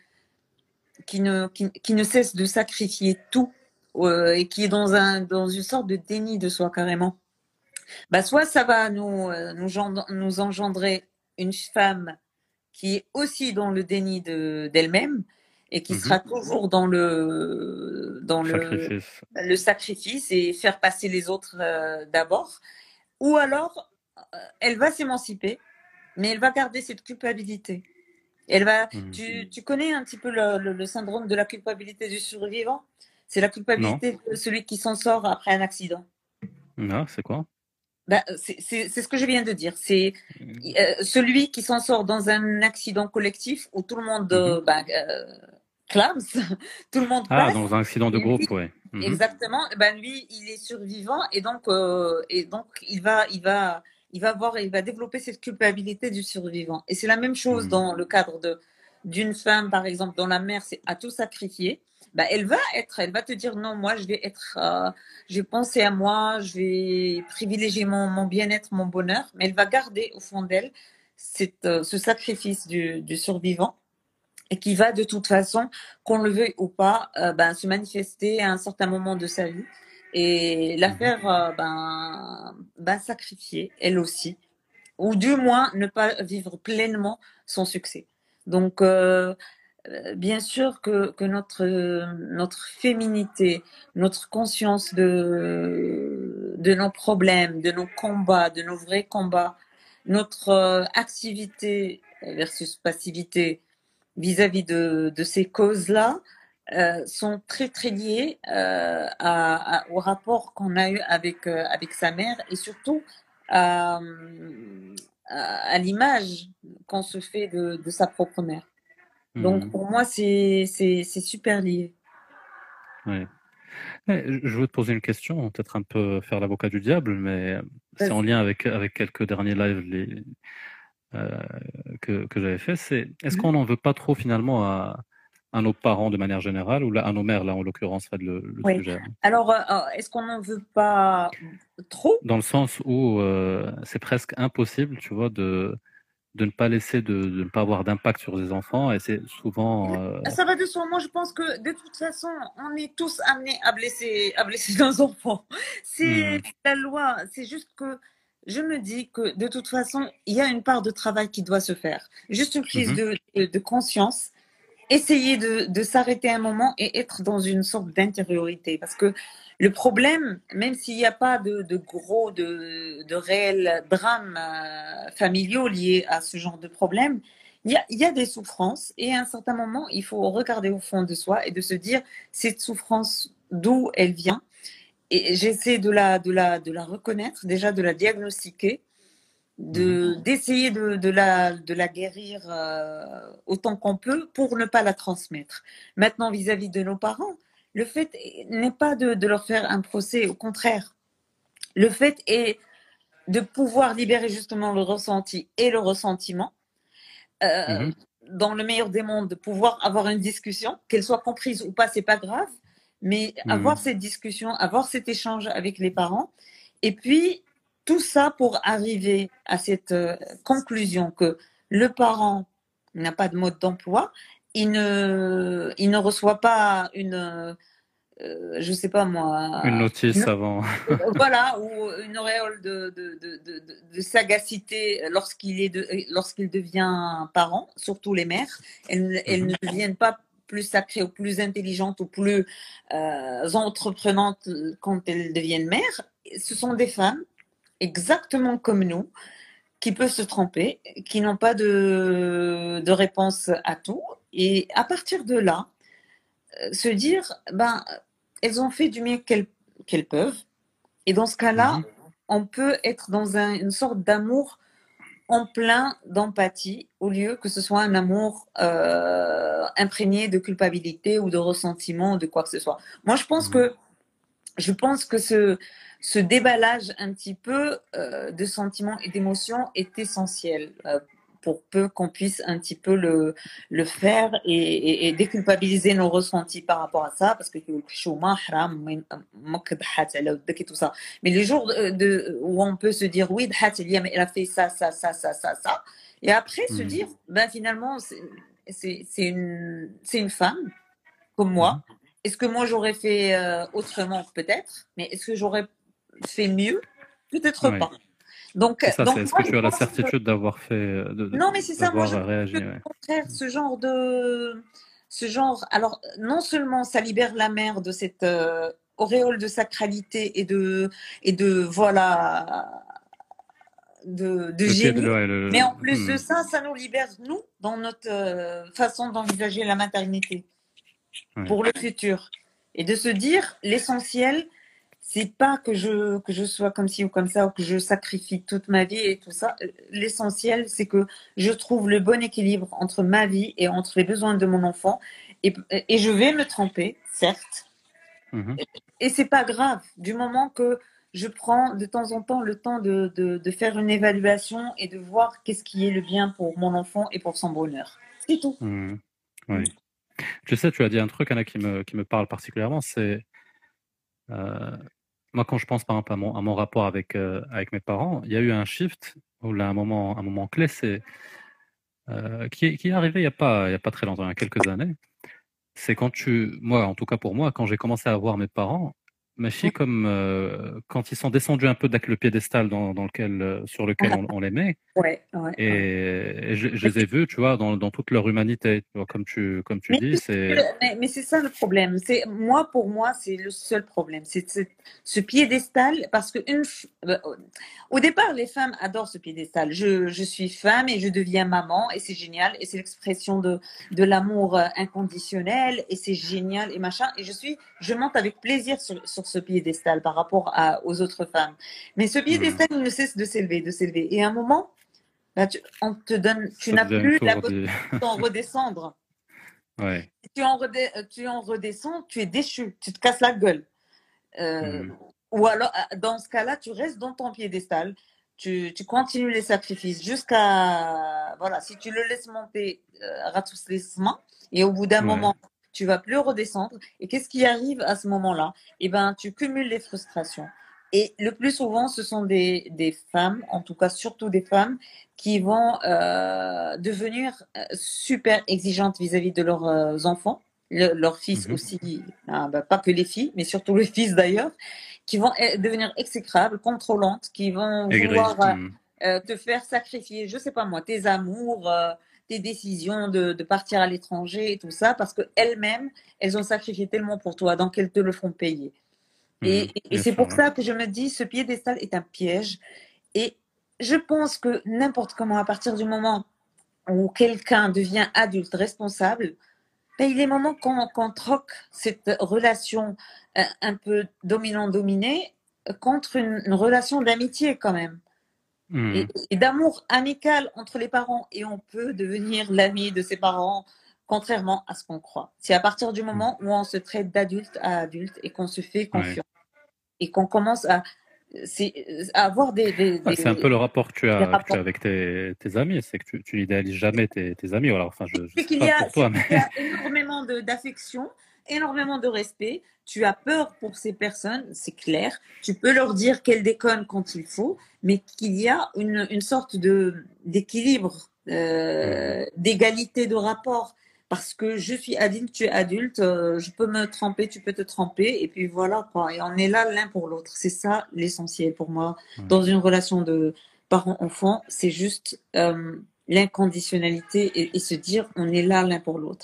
cesse de sacrifier tout et qui est dans une sorte de déni de soi carrément, bah soit ça va nous engendrer une femme qui est aussi dans le déni d'elle-même et qui sera toujours dans le sacrifice et faire passer les autres d'abord, ou alors elle va s'émanciper mais elle va garder cette culpabilité. Elle va, tu connais un petit peu le syndrome de la culpabilité du survivant? C'est la culpabilité de celui qui s'en sort après un accident. Non, c'est quoi? Bah, c'est ce que je viens de dire. C'est celui qui s'en sort dans un accident collectif où tout le monde clame, tout le monde passe. Ah, dans un accident de groupe, oui. Exactement. Ben lui, il est survivant et donc il va développer cette culpabilité du survivant. Et c'est la même chose dans le cadre d'une femme, par exemple, dont la mère a tout sacrifié. Bah, elle va te dire non, moi je vais penser à moi, je vais privilégier mon bien-être, mon bonheur, mais elle va garder au fond d'elle ce sacrifice du survivant et qui va de toute façon, qu'on le veuille ou pas, se manifester à un certain moment de sa vie et la faire sacrifier elle aussi, ou du moins ne pas vivre pleinement son succès. Donc bien sûr que notre féminité, notre conscience de nos problèmes, de nos combats, de nos vrais combats, notre activité versus passivité vis-à-vis de ces causes-là sont très très liées au rapport qu'on a eu avec sa mère et surtout à l'image qu'on se fait de sa propre mère. Donc pour moi c'est super lié. Oui. Je veux te poser une question, peut-être un peu faire l'avocat du diable, mais c'est en lien avec quelques derniers lives que j'avais fait. Est-ce qu'on n'en veut pas trop finalement à nos parents de manière générale, ou à nos mères là en l'occurrence, le sujet? Alors est-ce qu'on n'en veut pas trop? Dans le sens où c'est presque impossible, tu vois, de ne pas laisser, de ne pas avoir d'impact sur les enfants, et c'est souvent... Ça va de soi. Moi, je pense que de toute façon, on est tous amenés à blesser nos enfants. C'est la loi. C'est juste que je me dis que de toute façon, il y a une part de travail qui doit se faire. Juste une prise de conscience. Essayer de s'arrêter un moment et être dans une sorte d'intériorité. Parce que le problème, même s'il n'y a pas de réels drames familiaux liés à ce genre de problème, il y a des souffrances et à un certain moment, il faut regarder au fond de soi et de se dire cette souffrance, d'où elle vient. Et j'essaie de la reconnaître, déjà de la diagnostiquer, d'essayer de la guérir autant qu'on peut pour ne pas la transmettre. Maintenant, vis-à-vis de nos parents, le fait n'est pas de leur faire un procès, au contraire. Le fait est de pouvoir libérer justement le ressenti et le ressentiment. Dans le meilleur des mondes, de pouvoir avoir une discussion, qu'elle soit comprise ou pas, c'est pas grave, mais avoir cette discussion, avoir cet échange avec les parents, et puis tout ça pour arriver à cette conclusion que le parent n'a pas de mode d'emploi, il ne reçoit pas je sais pas moi, une notice avant. Voilà, ou une auréole de sagacité lorsqu'il devient parent, surtout les mères. Elles ne deviennent pas plus sacrées ou plus intelligentes ou plus entreprenantes quand elles deviennent mères. ce sont des femmes exactement comme nous qui peuvent se tromper, qui n'ont pas de réponse à tout. Et à partir de là, se dire, ben, elles ont fait du mieux qu'elles peuvent. Et dans ce cas-là, on peut être dans une sorte d'amour en plein d'empathie, au lieu que ce soit un amour imprégné de culpabilité ou de ressentiment ou de quoi que ce soit. Moi, je pense que ce déballage un petit peu de sentiments et d'émotions est essentiel pour peu qu'on puisse un petit peu le faire et déculpabiliser nos ressentis par rapport à ça, parce que tout ça. Mais les jours où on peut se dire oui, elle a fait ça, et après se dire, ben finalement, c'est une femme comme moi. Est-ce que moi j'aurais fait autrement? Peut-être, mais est-ce que j'aurais fait mieux? Peut-être pas. Donc, est-ce que tu as la certitude d'avoir fait, non, mais c'est ça, moi je réagi, au contraire, ce genre, alors non seulement ça libère la mère de cette auréole de sacralité et de voilà de génie, mais en plus de ça, ça nous libère nous dans notre façon d'envisager la maternité pour le futur, et de se dire l'essentiel. C'est pas que je sois comme ci ou comme ça, ou que je sacrifie toute ma vie et tout ça. L'essentiel, c'est que je trouve le bon équilibre entre ma vie et entre les besoins de mon enfant. Et je vais me tromper, certes. Et c'est pas grave, du moment que je prends de temps en temps le temps de faire une évaluation et de voir qu'est-ce qui est le bien pour mon enfant et pour son bonheur. C'est tout. Oui. Tu sais, tu as dit un truc, Anna, qui me parle particulièrement, c'est... moi, quand je pense par exemple à mon rapport avec mes parents, il y a eu un shift, ou là, un moment clé, c'est qui est arrivé il y a pas très longtemps, il y a quelques années. C'est moi, en tout cas pour moi, quand j'ai commencé à voir mes parents, ma fille, comme quand ils sont descendus un peu avec le piédestal sur lequel on les met, et je les ai vus, tu vois, dans toute leur humanité, tu vois, comme tu dis, mais c'est ça le problème. Pour moi, c'est le seul problème. C'est ce piédestal, parce que au départ, les femmes adorent ce piédestal. Je suis femme et je deviens maman, et c'est génial, et c'est l'expression de l'amour inconditionnel, et c'est génial, et machin, et je monte avec plaisir sur ce piédestal par rapport aux autres femmes. Mais ce piédestal, il ne cesse de s'élever. Et à un moment, là, on te donne, tu n'as plus la possibilité d'en redescendre. Ouais. Si tu en redescends, tu es déchu, tu te casses la gueule. Ou alors, dans ce cas-là, tu restes dans ton piédestal, tu continues les sacrifices jusqu'à... Voilà, si tu le laisses monter, ratoussement, et au bout d'un moment, tu vas plus redescendre. Et qu'est-ce qui arrive à ce moment-là? Eh ben, tu cumules les frustrations. Et le plus souvent, ce sont des femmes, en tout cas surtout des femmes, qui vont devenir super exigeantes vis-à-vis de leurs enfants, leurs fils aussi, pas que les filles, mais surtout les fils d'ailleurs, qui vont devenir exécrables, contrôlantes, qui vont vouloir te faire sacrifier, je sais pas moi, tes amours, tes décisions de partir à l'étranger et tout ça, parce qu'elles-mêmes, elles ont sacrifié tellement pour toi, donc elles te le font payer. Et c'est pour ça que je me dis, ce piédestal est un piège. Et je pense que n'importe comment, à partir du moment où quelqu'un devient adulte, responsable, ben, il est moment qu'on troque cette relation un peu dominant-dominé contre une relation d'amitié quand même. Et d'amour amical entre les parents. Et on peut devenir l'ami de ses parents, contrairement à ce qu'on croit. C'est à partir du moment où on se traite d'adulte à adulte et qu'on se fait confiance. Et qu'on commence à avoir c'est un peu le rapport que tu as avec tes amis, c'est que tu n'idéalises jamais tes amis. Alors, enfin, je sais pas pour toi, mais... Il y a énormément d'affection, énormément de respect. Tu as peur pour ces personnes, c'est clair. Tu peux leur dire qu'elles déconnent quand il faut, mais qu'il y a une sorte d'équilibre, d'égalité de rapport. Parce que je suis adulte, tu es adulte, je peux me tromper, tu peux te tromper, et puis voilà quoi. Et on est là l'un pour l'autre. C'est ça l'essentiel pour moi. Dans une relation de parent-enfant, c'est juste l'inconditionnalité et se dire on est là l'un pour l'autre.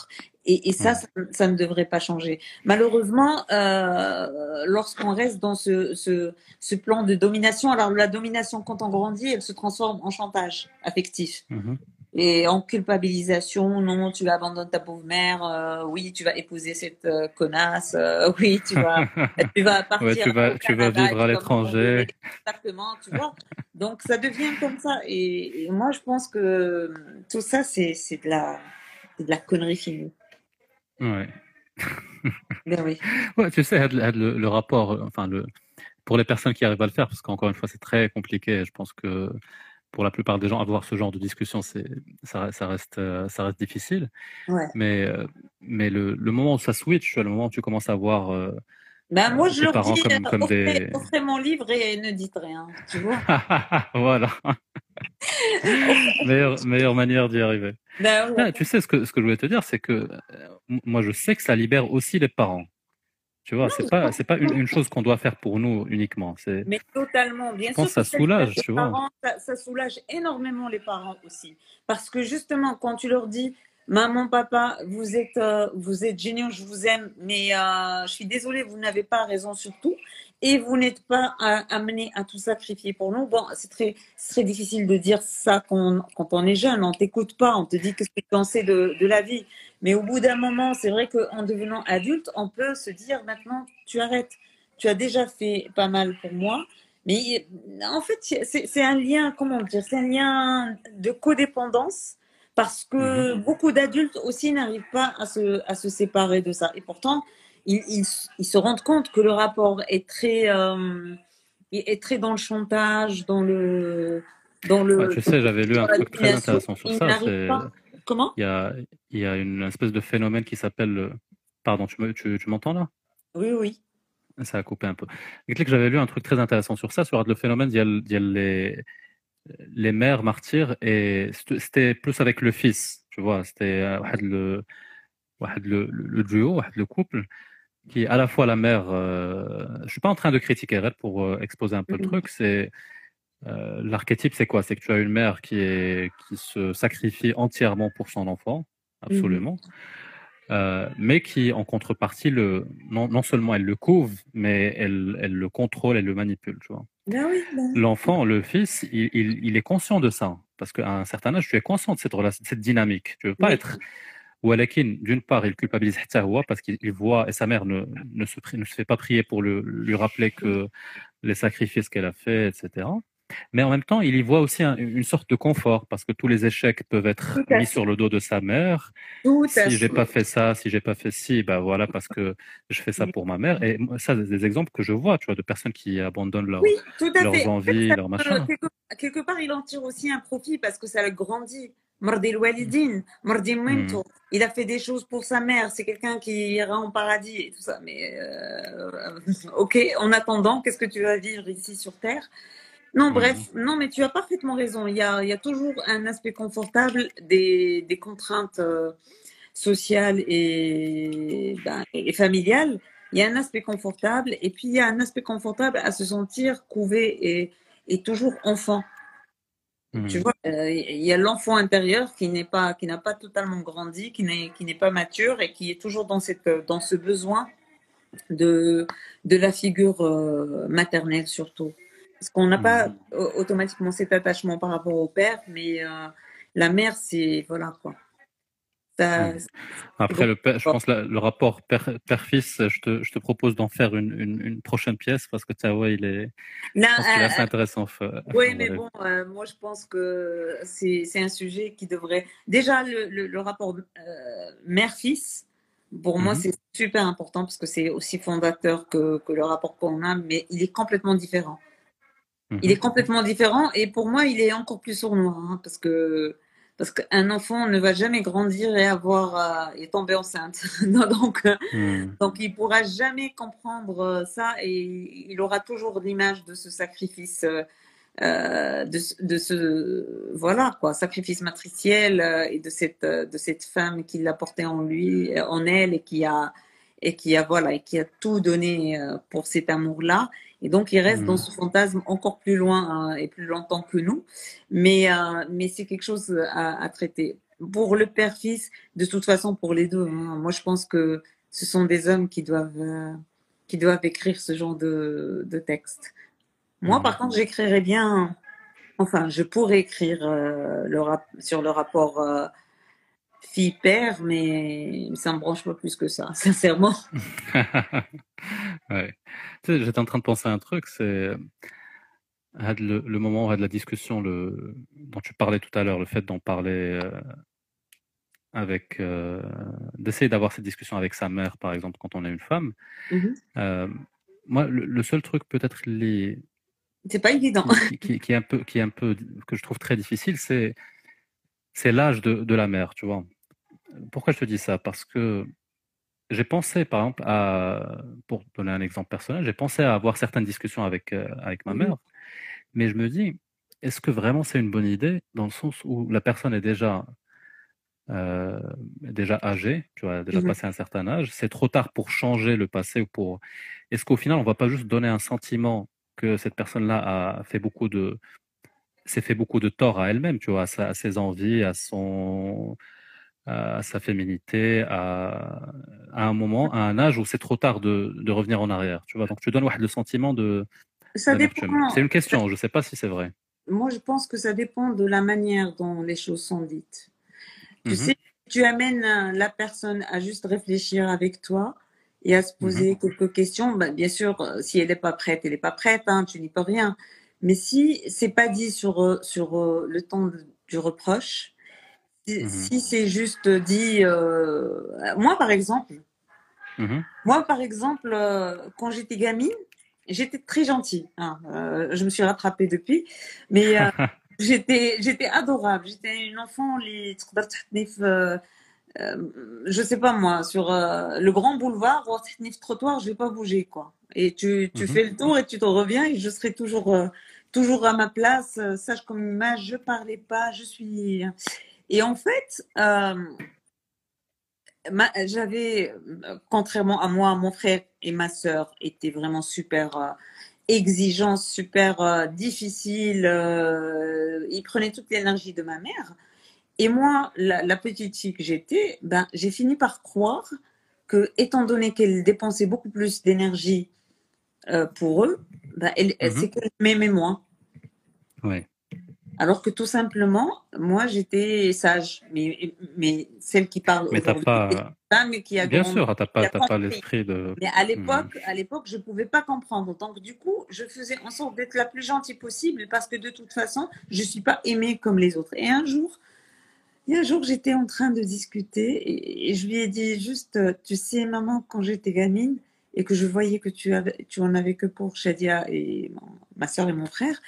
Et ça, ça ne devrait pas changer. Malheureusement, lorsqu'on reste dans ce plan de domination, alors la domination, quand on grandit, elle se transforme en chantage affectif. Et en culpabilisation, non, tu abandonnes ta pauvre mère, oui, tu vas épouser cette connasse, oui, tu vas partir Ouais, tu vas vivre à l'étranger. Exactement, tu vois. Donc ça devient comme ça. Et moi, je pense que tout ça, c'est de la connerie finie. Ouais. Ben oui. Ouais, tu sais, le rapport, enfin, pour les personnes qui arrivent à le faire, parce qu'encore une fois, c'est très compliqué. Je pense que pour la plupart des gens, avoir ce genre de discussion, ça reste difficile. Ouais. Mais le moment où ça switch, tu vois, le moment où tu commences à voir Ben moi, je tes leur parents dis, comme des... offrez mon livre et ne dites rien, tu vois. Voilà. meilleure manière d'y arriver. Ben, ouais. Tu sais, ce que je voulais te dire, c'est que moi, je sais que ça libère aussi les parents. Tu vois, c'est pas une chose qu'on doit faire pour nous uniquement. Mais totalement, bien sûr. Je pense que ça soulage, tu vois. Ça soulage énormément les parents aussi. Parce que justement, quand tu leur dis, maman, papa, vous êtes géniaux, je vous aime, mais je suis désolée, vous n'avez pas raison sur tout. Et vous n'êtes pas amené à tout sacrifier pour nous. Bon, c'est très difficile de dire ça quand on est jeune. On t'écoute pas, on te dit que ce que tu pensais de la vie. Mais au bout d'un moment, c'est vrai qu'en devenant adulte, on peut se dire maintenant, tu arrêtes. Tu as déjà fait pas mal pour moi. Mais en fait, c'est un lien, comment dire, c'est un lien de codépendance parce que beaucoup d'adultes aussi n'arrivent pas à se séparer de ça. Et pourtant, ils se rendent compte que le rapport est très dans le chantage, dans le. Ouais, tu sais, j'avais lu un truc très intéressant sur ça. Comment ? Il y a une espèce de phénomène qui s'appelle. Pardon, tu m'entends là ? Oui, oui. Ça a coupé un peu. J'avais lu un truc très intéressant sur ça, sur le phénomène. Il y a les mères martyrs et c'était plus avec le fils, tu vois. C'était le duo, le couple. Qui à la fois la mère, je suis pas en train de critiquer elle pour exposer un peu le truc, c'est l'archétype, c'est quoi? C'est que tu as une mère qui se sacrifie entièrement pour son enfant, absolument, mais qui en contrepartie non seulement elle le couve, mais elle le contrôle, elle le manipule, tu vois. Ben oui, L'enfant, le fils, il est conscient de ça parce qu'à un certain âge, tu es conscient de cette relation, de cette dynamique. Tu veux pas être Walakin, d'une part, il culpabilise parce qu'il voit, et sa mère ne se fait pas prier pour lui rappeler que les sacrifices qu'elle a faits, etc. Mais en même temps, il y voit aussi une sorte de confort, parce que tous les échecs peuvent être mis sur le dos de sa mère. Si j'ai pas fait ça, si j'ai pas fait ci, ben voilà, parce que je fais ça pour ma mère. Et ça, c'est des exemples que je vois, tu vois, de personnes qui abandonnent leurs envies, leurs machins. Quelque part, il en tire aussi un profit, parce que ça le grandit. Mardi Walidine, Mardi Mento. Il a fait des choses pour sa mère. C'est quelqu'un qui ira en paradis et tout ça. Mais ok, en attendant, qu'est-ce que tu vas vivre ici sur Terre? Non, bref, non, mais tu as parfaitement raison. Il y a toujours un aspect confortable des contraintes sociales et familiales. Il y a un aspect confortable et puis il y a un aspect confortable à se sentir couvé et toujours enfant. Tu vois, il y a l'enfant intérieur qui n'a pas totalement grandi, qui n'est pas mature et qui est toujours dans ce besoin de la figure maternelle surtout. Parce qu'on n'a pas automatiquement cet attachement par rapport au père, mais la mère, c'est voilà quoi. Après, je pense le rapport père-fils, je te propose d'en faire une prochaine pièce parce que Tawa, il est assez intéressant. Oui, mais bon, moi je pense que c'est un sujet qui devrait. Déjà, le rapport mère-fils, pour moi, c'est super important parce que c'est aussi fondateur que le rapport qu'on a, mais il est complètement différent. Il est complètement différent et pour moi, il est encore plus sournois hein, parce qu'un enfant ne va jamais grandir et tomber enceinte. Donc il pourra jamais comprendre ça et il aura toujours l'image de ce sacrifice, sacrifice matriciel et de cette femme qui l'a porté en elle et qui a tout donné pour cet amour-là. Et donc, il reste dans ce fantasme encore plus loin et plus longtemps que nous. Mais c'est quelque chose à traiter. pour le père-fils, de toute façon pour les deux, hein. Moi, je pense que ce sont des hommes qui doivent écrire ce genre de texte. Moi, par contre, j'écrirais bien, enfin, je pourrais écrire sur le rapport fille-père, mais ça me branche pas plus que ça, sincèrement. Ouais. Tu sais, j'étais en train de penser à un truc, c'est le moment de la discussion dont tu parlais tout à l'heure, le fait d'en parler avec, d'essayer d'avoir cette discussion avec sa mère, par exemple, quand on est une femme. Mhm. Moi, le seul truc peut-être C'est pas évident. qui est un peu que je trouve très difficile, c'est l'âge de la mère, tu vois. Pourquoi je te dis ça? Parce que j'ai pensé, par exemple, pour donner un exemple personnel, j'ai pensé à avoir certaines discussions avec ma mère, mais je me dis, est-ce que vraiment c'est une bonne idée dans le sens où la personne est déjà âgée, tu vois, déjà passé un certain âge, c'est trop tard pour changer le passé ou pour. Est-ce qu'au final, on va pas juste donner un sentiment que cette personne-là s'est fait beaucoup de tort à elle-même, tu vois, à ses envies, à sa féminité, à un moment, à un âge où c'est trop tard de revenir en arrière, tu vois. Donc tu donnes le sentiment Ça dépend. d'amertume. C'est une question, je ne sais pas si c'est vrai. Moi, je pense que ça dépend de la manière dont les choses sont dites. Tu sais, tu amènes la personne à juste réfléchir avec toi et à se poser quelques questions. Ben, bien sûr, si elle n'est pas prête, elle n'est pas prête, hein, tu n'y peux rien. Mais si c'est pas dit sur le ton du reproche, si c'est juste dit, moi par exemple, quand j'étais gamine, j'étais très gentille, hein. Je me suis rattrapée depuis, mais j'étais adorable. J'étais une enfant, je sais pas moi, sur le grand boulevard ou trottoir, je vais pas bouger, quoi. Et tu fais le tour et tu te reviens et je serai toujours à ma place, sage comme une image. Je parlais pas, je suis. Et en fait, j'avais, contrairement à moi, mon frère et ma sœur étaient vraiment super exigeants, super difficiles. Ils prenaient toute l'énergie de ma mère. Et moi, la petite fille que j'étais, ben, j'ai fini par croire que, étant donné qu'elle dépensait beaucoup plus d'énergie pour eux, ben, c'est qu'elle m'aimait moins. Ouais. Alors que tout simplement, moi, j'étais sage. Mais celle qui parle mais aujourd'hui, t'as c'est une femme qui a bien grandi, sûr, t'as qui a pas compris. l'esprit de. Mais à l'époque, je pouvais pas comprendre. Donc, du coup, je faisais en sorte d'être la plus gentille possible parce que de toute façon, je suis pas aimée comme les autres. Et un jour, j'étais en train de discuter et je lui ai dit juste, tu sais, maman, quand j'étais gamine et que je voyais que tu en avais que pour Shadia et ma soeur et mon frère,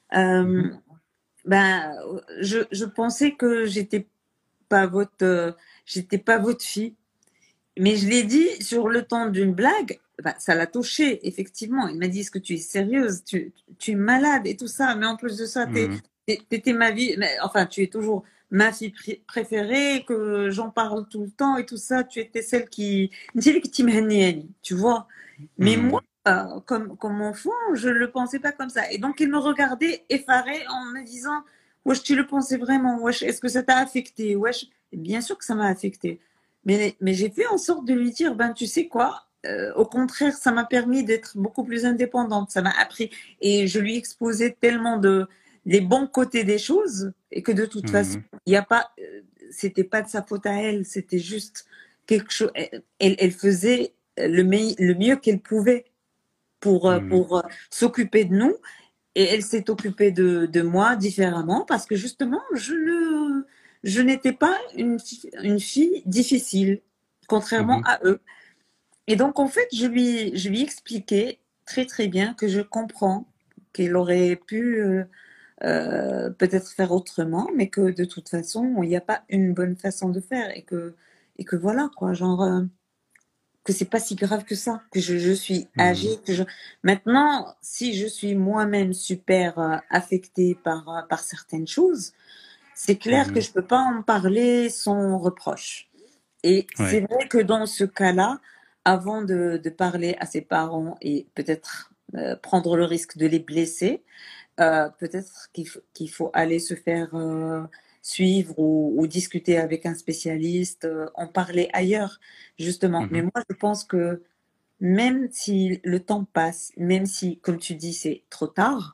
ben, je pensais que j'étais pas votre fille. Mais je l'ai dit sur le ton d'une blague, ben, ça l'a touché, effectivement. Il m'a dit, est-ce que tu es sérieuse? Tu es malade et tout ça. Mais en plus de ça, t'étais ma vie, enfin, tu es toujours ma fille préférée, que j'en parle tout le temps et tout ça. Tu étais celle qui tu vois. Mais moi, comme enfant, je le pensais pas comme ça. Et donc, il me regardait effaré en me disant, wesh, tu le pensais vraiment? Wesh, est-ce que ça t'a affecté? Wesh, bien sûr que ça m'a affecté. Mais j'ai fait en sorte de lui dire, ben, tu sais quoi, au contraire, ça m'a permis d'être beaucoup plus indépendante. Ça m'a appris. Et je lui exposais tellement les bons côtés des choses et que de toute façon, il n'y a pas, c'était pas de sa faute à elle. C'était juste quelque chose. Elle faisait le mieux qu'elle pouvait pour s'occuper de nous. Et elle s'est occupée de moi différemment parce que justement, je n'étais pas une fille difficile, contrairement à eux. Et donc, en fait, je lui expliquais très, très bien que je comprends qu'elle aurait pu peut-être faire autrement, mais que de toute façon, il n'y a pas une bonne façon de faire et que voilà, quoi, genre, que c'est pas si grave que ça, que je suis âgée, Maintenant, si je suis moi-même super affectée par certaines choses, c'est clair que je peux pas en parler sans reproche. Et c'est vrai que dans ce cas-là, avant de parler à ses parents et peut-être prendre le risque de les blesser, peut-être qu'il faut aller se faire suivre ou discuter avec un spécialiste, en parler ailleurs, justement. Mais moi, je pense que même si le temps passe, même si, comme tu dis, c'est trop tard,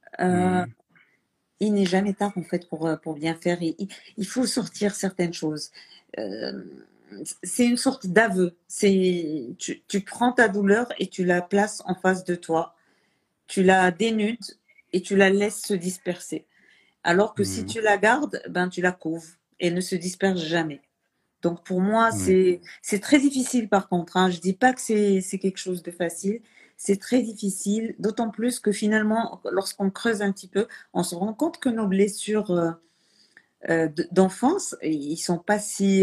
il n'est jamais tard en fait pour bien faire. Il faut sortir certaines choses. C'est une sorte d'aveu. Tu prends ta douleur et tu la places en face de toi. Tu la dénudes et tu la laisses se disperser. Alors que si tu la gardes, ben tu la couves et elle ne se disperse jamais. Donc pour moi, c'est très difficile par contre. Hein. Je dis pas que c'est quelque chose de facile. C'est très difficile, d'autant plus que finalement, lorsqu'on creuse un petit peu, on se rend compte que nos blessures d'enfance, ils sont pas si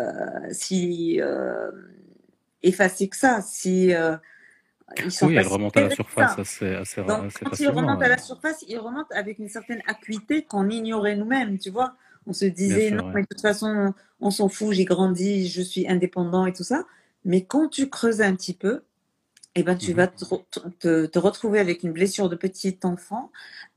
effacées que ça. Ils sont elles remontent à la surface assez Donc, quand ils facilement. remontent à la surface, ils remontent avec une certaine acuité qu'on ignorait nous-mêmes, tu vois. On se disait, sûr, non, mais de toute façon, on s'en fout, j'ai grandi, je suis indépendant et tout ça. Mais quand tu creuses un petit peu, eh ben, tu vas te retrouver avec une blessure de petit enfant.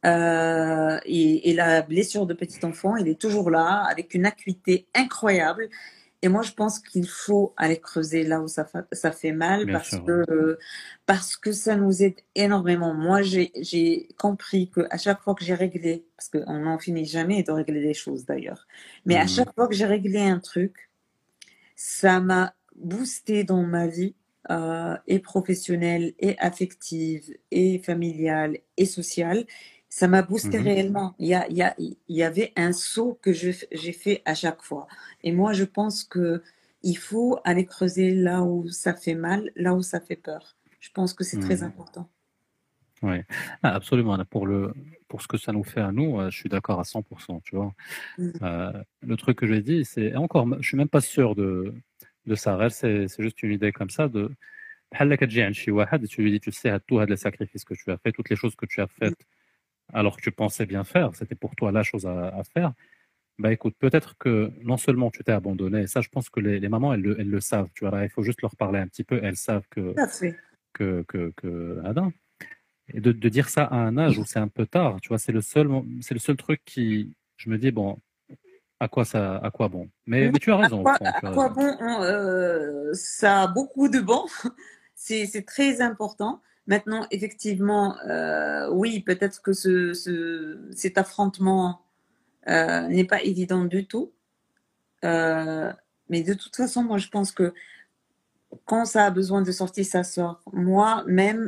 Et la blessure de petit enfant, elle est toujours là, avec une acuité incroyable. Et moi, je pense qu'il faut aller creuser là où ça fait mal parce que ça nous aide énormément. Moi, j'ai compris qu'à chaque fois que j'ai réglé, parce qu'on n'en finit jamais de régler les choses d'ailleurs, mais à chaque fois que j'ai réglé un truc, ça m'a boosté dans ma vie et professionnelle, et affective, et familiale, et sociale. Ça m'a boosté réellement. Il y avait un saut que j'ai fait à chaque fois. Et moi, je pense qu'il faut aller creuser là où ça fait mal, là où ça fait peur. Je pense que c'est très important. Oui, absolument. Pour ce que ça nous fait à nous, je suis d'accord à 100%. Tu vois. Le truc que j'ai dit, c'est encore, je suis même pas sûr de ça. C'est juste une idée comme ça de. Tu lui dis, tu sais, à tous les sacrifices que tu as fait, toutes les choses que tu as faites, alors que tu pensais bien faire, c'était pour toi la chose à faire. Bah écoute, peut-être que non seulement tu t'es abandonné, et ça je pense que les mamans elles le savent, tu vois, il faut juste leur parler un petit peu, elles savent que Adam. Et de dire ça à un âge où c'est un peu tard, tu vois, c'est le seul truc qui, je me dis bon, à quoi bon. Mais tu as raison. À quoi bon, ça a beaucoup de bon. C'est très important. Maintenant, effectivement, oui, peut-être que cet affrontement n'est pas évident du tout. Mais de toute façon, moi, je pense que quand ça a besoin de sortir, ça sort. Moi-même,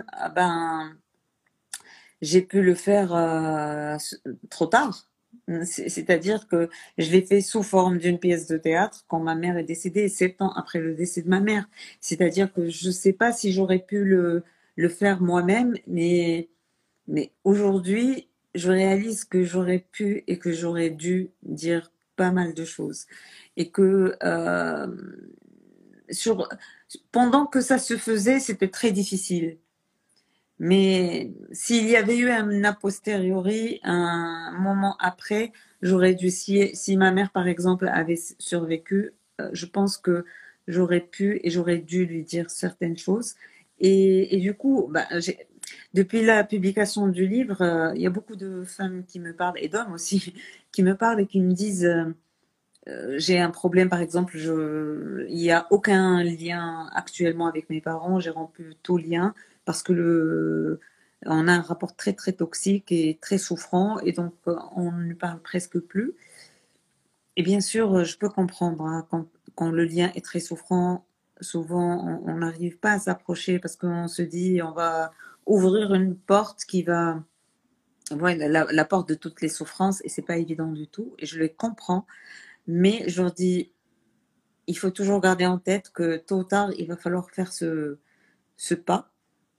j'ai pu le faire trop tard. C'est-à-dire que je l'ai fait sous forme d'une pièce de théâtre quand ma mère est décédée, 7 ans après le décès de ma mère. C'est-à-dire que je ne sais pas si j'aurais pu le faire moi-même, mais aujourd'hui, je réalise que j'aurais pu et que j'aurais dû dire pas mal de choses. Et que pendant que ça se faisait, c'était très difficile. Mais s'il y avait eu un a posteriori, un moment après, j'aurais dû, si ma mère par exemple avait survécu, je pense que j'aurais pu et j'aurais dû lui dire certaines choses. Et du coup, depuis la publication du livre, il y a beaucoup de femmes qui me parlent, et d'hommes aussi, qui me parlent et qui me disent j'ai un problème, par exemple, il n'y a aucun lien actuellement avec mes parents, j'ai rompu tout lien parce que on a un rapport très très toxique et très souffrant, et donc on ne parle presque plus. Et bien sûr, je peux comprendre, hein, quand le lien est très souffrant, souvent on n'arrive pas à s'approcher parce qu'on se dit on va ouvrir une porte qui va, la porte de toutes les souffrances, et c'est pas évident du tout, et je les comprends. Mais je leur dis, il faut toujours garder en tête que tôt ou tard, il va falloir faire ce pas.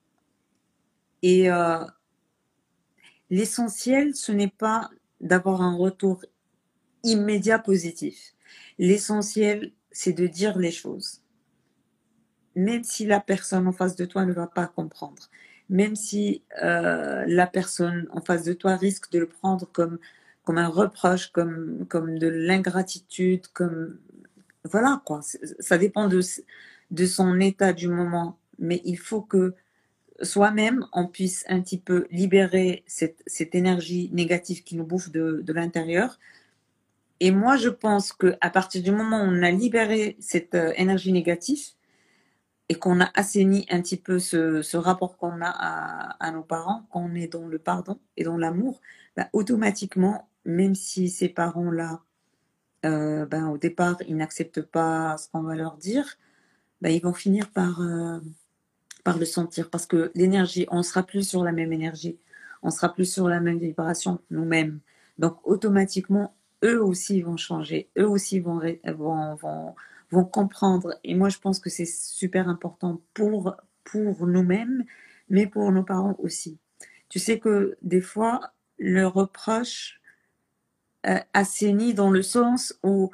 Et l'essentiel, ce n'est pas d'avoir un retour immédiat positif. L'essentiel, c'est de dire les choses. Même si la personne en face de toi ne va pas comprendre. Même si la personne en face de toi risque de le prendre comme un reproche, comme de l'ingratitude, voilà quoi. Ça dépend de son état du moment. Mais il faut que soi-même, on puisse un petit peu libérer cette énergie négative qui nous bouffe de l'intérieur, Et moi, je pense qu'à partir du moment où on a libéré cette énergie négative et qu'on a assaini un petit peu ce rapport qu'on a à nos parents, quand on est dans le pardon et dans l'amour, bah, automatiquement, même si ces parents-là, au départ, ils n'acceptent pas ce qu'on va leur dire, bah, ils vont finir par le sentir. Parce que l'énergie, on ne sera plus sur la même énergie, on ne sera plus sur la même vibration nous-mêmes. Donc, automatiquement, eux aussi vont changer, eux aussi vont comprendre. Et moi, je pense que c'est super important pour nous-mêmes, mais pour nos parents aussi. Tu sais que des fois, le reproche assainit dans le sens où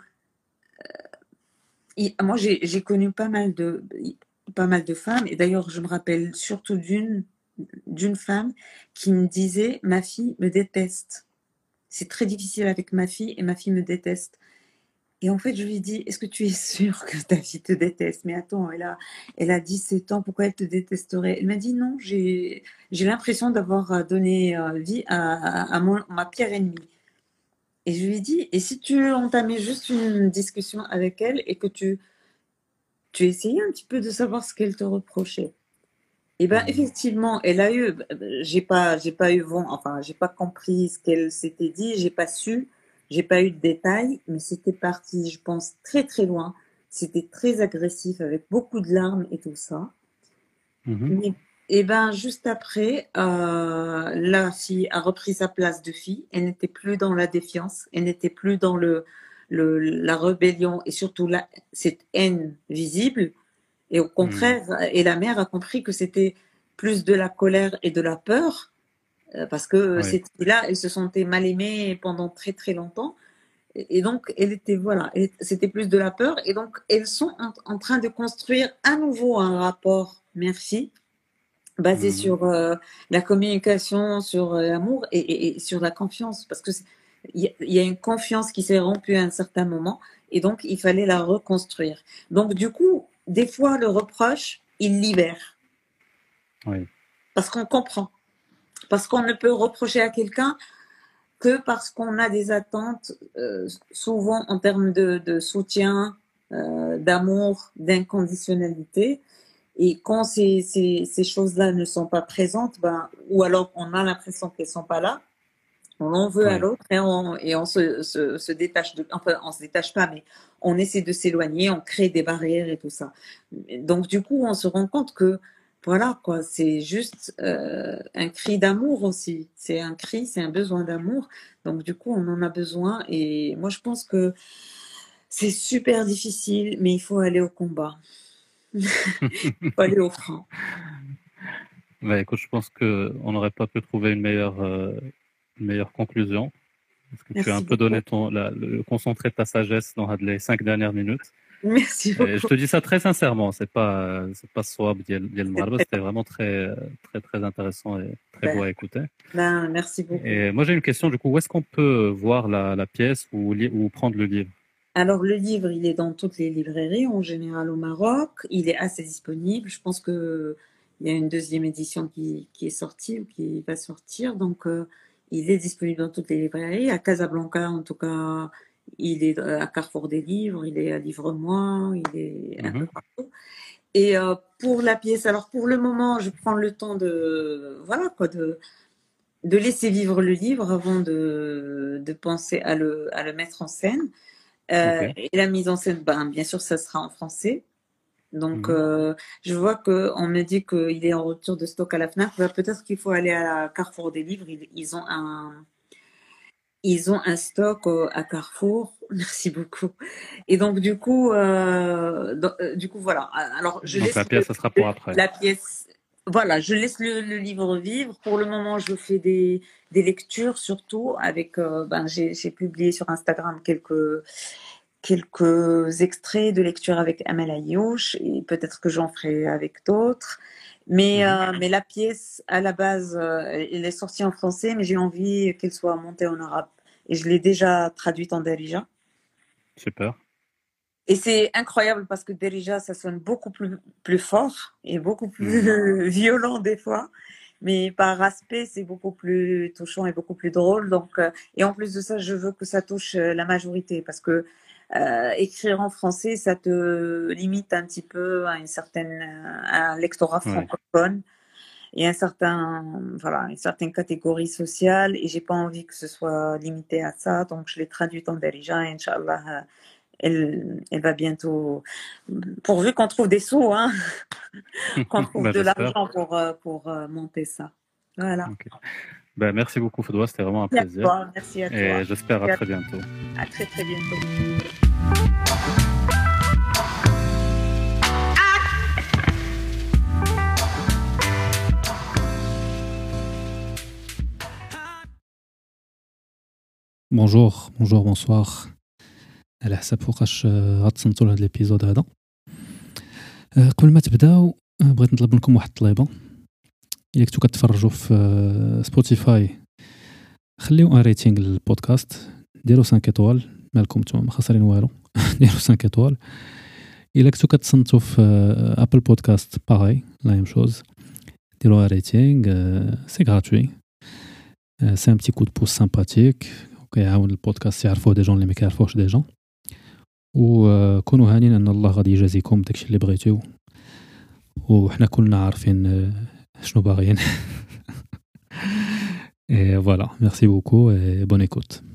moi, j'ai connu pas mal de femmes, et d'ailleurs, je me rappelle surtout d'une femme qui me disait « Ma fille me déteste. C'est très difficile avec ma fille et ma fille me déteste. » Et en fait, je lui ai dit « Est-ce que tu es sûre que ta fille te déteste? Mais attends, elle a 17 ans, pourquoi elle te détesterait ?» Elle m'a dit « Non, j'ai l'impression d'avoir donné vie à ma pire ennemie. » Et je lui ai dit « Et si tu entamais juste une discussion avec elle et que tu essayais un petit peu de savoir ce qu'elle te reprochait ?» Et ben effectivement, elle a eu, j'ai pas eu vent, enfin j'ai pas compris ce qu'elle s'était dit, j'ai pas eu de détails, mais c'était parti, je pense, très très loin. C'était très agressif avec beaucoup de larmes et tout ça. Mais, et ben juste après, la fille a repris sa place de fille. Elle n'était plus dans la défiance, elle n'était plus dans la rébellion et surtout cette haine visible. Et au contraire, et la mère a compris que c'était plus de la colère et de la peur, parce que cette fille-là, elle se sentait mal aimée pendant très très longtemps. Et donc, c'était plus de la peur. Et donc, elles sont en train de construire à nouveau un rapport mère-fille, basé sur la communication, sur l'amour et sur la confiance. Parce que il y a une confiance qui s'est rompue à un certain moment. Et donc, il fallait la reconstruire. Donc, du coup, des fois, le reproche, il libère. Oui. Parce qu'on comprend. Parce qu'on ne peut reprocher à quelqu'un que parce qu'on a des attentes, souvent en termes de soutien, d'amour, d'inconditionnalité. Et quand ces choses-là ne sont pas présentes, ou alors on a l'impression qu'elles ne sont pas là, on en veut à l'autre et on se détache enfin, on se détache pas, mais on essaie de s'éloigner, on crée des barrières et tout ça. Donc du coup, on se rend compte que voilà quoi, c'est juste un cri d'amour aussi. C'est un cri, c'est un besoin d'amour. Donc du coup, on en a besoin. Et moi, je pense que c'est super difficile, mais il faut aller au combat. Il faut aller au front. Écoute, je pense qu'on n'aurait pas pu trouver une meilleure conclusion. Parce que Merci tu as un peu donné le concentré de ta sagesse dans les 5 dernières minutes. Merci beaucoup. Et je te dis ça très sincèrement, c'est pas swab ديال المغاربة, c'était vraiment très très très intéressant et très beau à écouter. Merci beaucoup. Et moi j'ai une question du coup, où est-ce qu'on peut voir la pièce ou prendre le livre? Alors le livre, il est dans toutes les librairies en général au Maroc, il est assez disponible. Je pense que il y a une deuxième édition qui est sortie ou qui va sortir, donc il est disponible dans toutes les librairies. À Casablanca, en tout cas, il est à Carrefour des Livres, il est à Livre-moi, il est un peu partout. Et pour la pièce, alors pour le moment, je prends le temps de laisser vivre le livre avant de penser à le mettre en scène. Et la mise en scène, bien sûr, ça sera en français. Donc, je vois qu'on me dit qu'il est en rupture de stock à la FNAC. Peut-être qu'il faut aller à Carrefour des Livres. Ils ont un stock à Carrefour. Merci beaucoup. Et donc, du coup, voilà. Alors, donc la pièce, ça sera pour après. La pièce, voilà, je laisse le livre vivre. Pour le moment, je fais des lectures surtout avec. J'ai publié sur Instagram quelques extraits de lecture avec Amel Ayouch et peut-être que j'en ferai avec d'autres. Mais la pièce, à la base, elle est sortie en français, mais j'ai envie qu'elle soit montée en arabe. Et je l'ai déjà traduite en Darija. Super. Et c'est incroyable parce que Darija, ça sonne beaucoup plus fort et beaucoup plus violent des fois. mais par aspect, c'est beaucoup plus touchant et beaucoup plus drôle. Donc, et en plus de ça, je veux que ça touche la majorité parce que écrire en français, ça te limite un petit peu à un lectorat francophone et une certaine catégorie sociale. Et j'ai pas envie que ce soit limité à ça. Donc, je l'ai traduite en Darija et Inch'Allah, elle va bientôt, pourvu qu'on trouve des sous, hein, qu'on trouve de l'argent pour monter ça. Voilà. Okay. Ben, merci beaucoup, Fodwa, c'était vraiment un plaisir. Merci à toi. Et j'espère à très bientôt. À très très bientôt. Bonjour, bonsoir. على حسب فوقاش غتصنتوا لهاد الابيزود هذا. قبل ما تبداو بغيت نطلب منكم واحد الطليبه. الا كنتو كتفرجوا في سبوتيفاي خليو ان ريتينغ للبودكاست، ديروا 5 ايطوال، مالكم نتوما ما خاسرين والو. ديروا 5 ايطوال. الا كنتو كتصنتوا في ابل بودكاست باغي لا ميم شوز، ديروا ان ريتينغ، سي غراتوي، سي ان بتي كود بوس سامباتيك كيعاون البودكاست يعرفوه دي جون اللي ما كيعرفوش دي جون، وكونوا هانين ان الله غادي يجازيكم داكشي اللي بغيتيو، وحنا كلنا عارفين شنو باغيين. Et voilà, merci beaucoup et bonne écoute.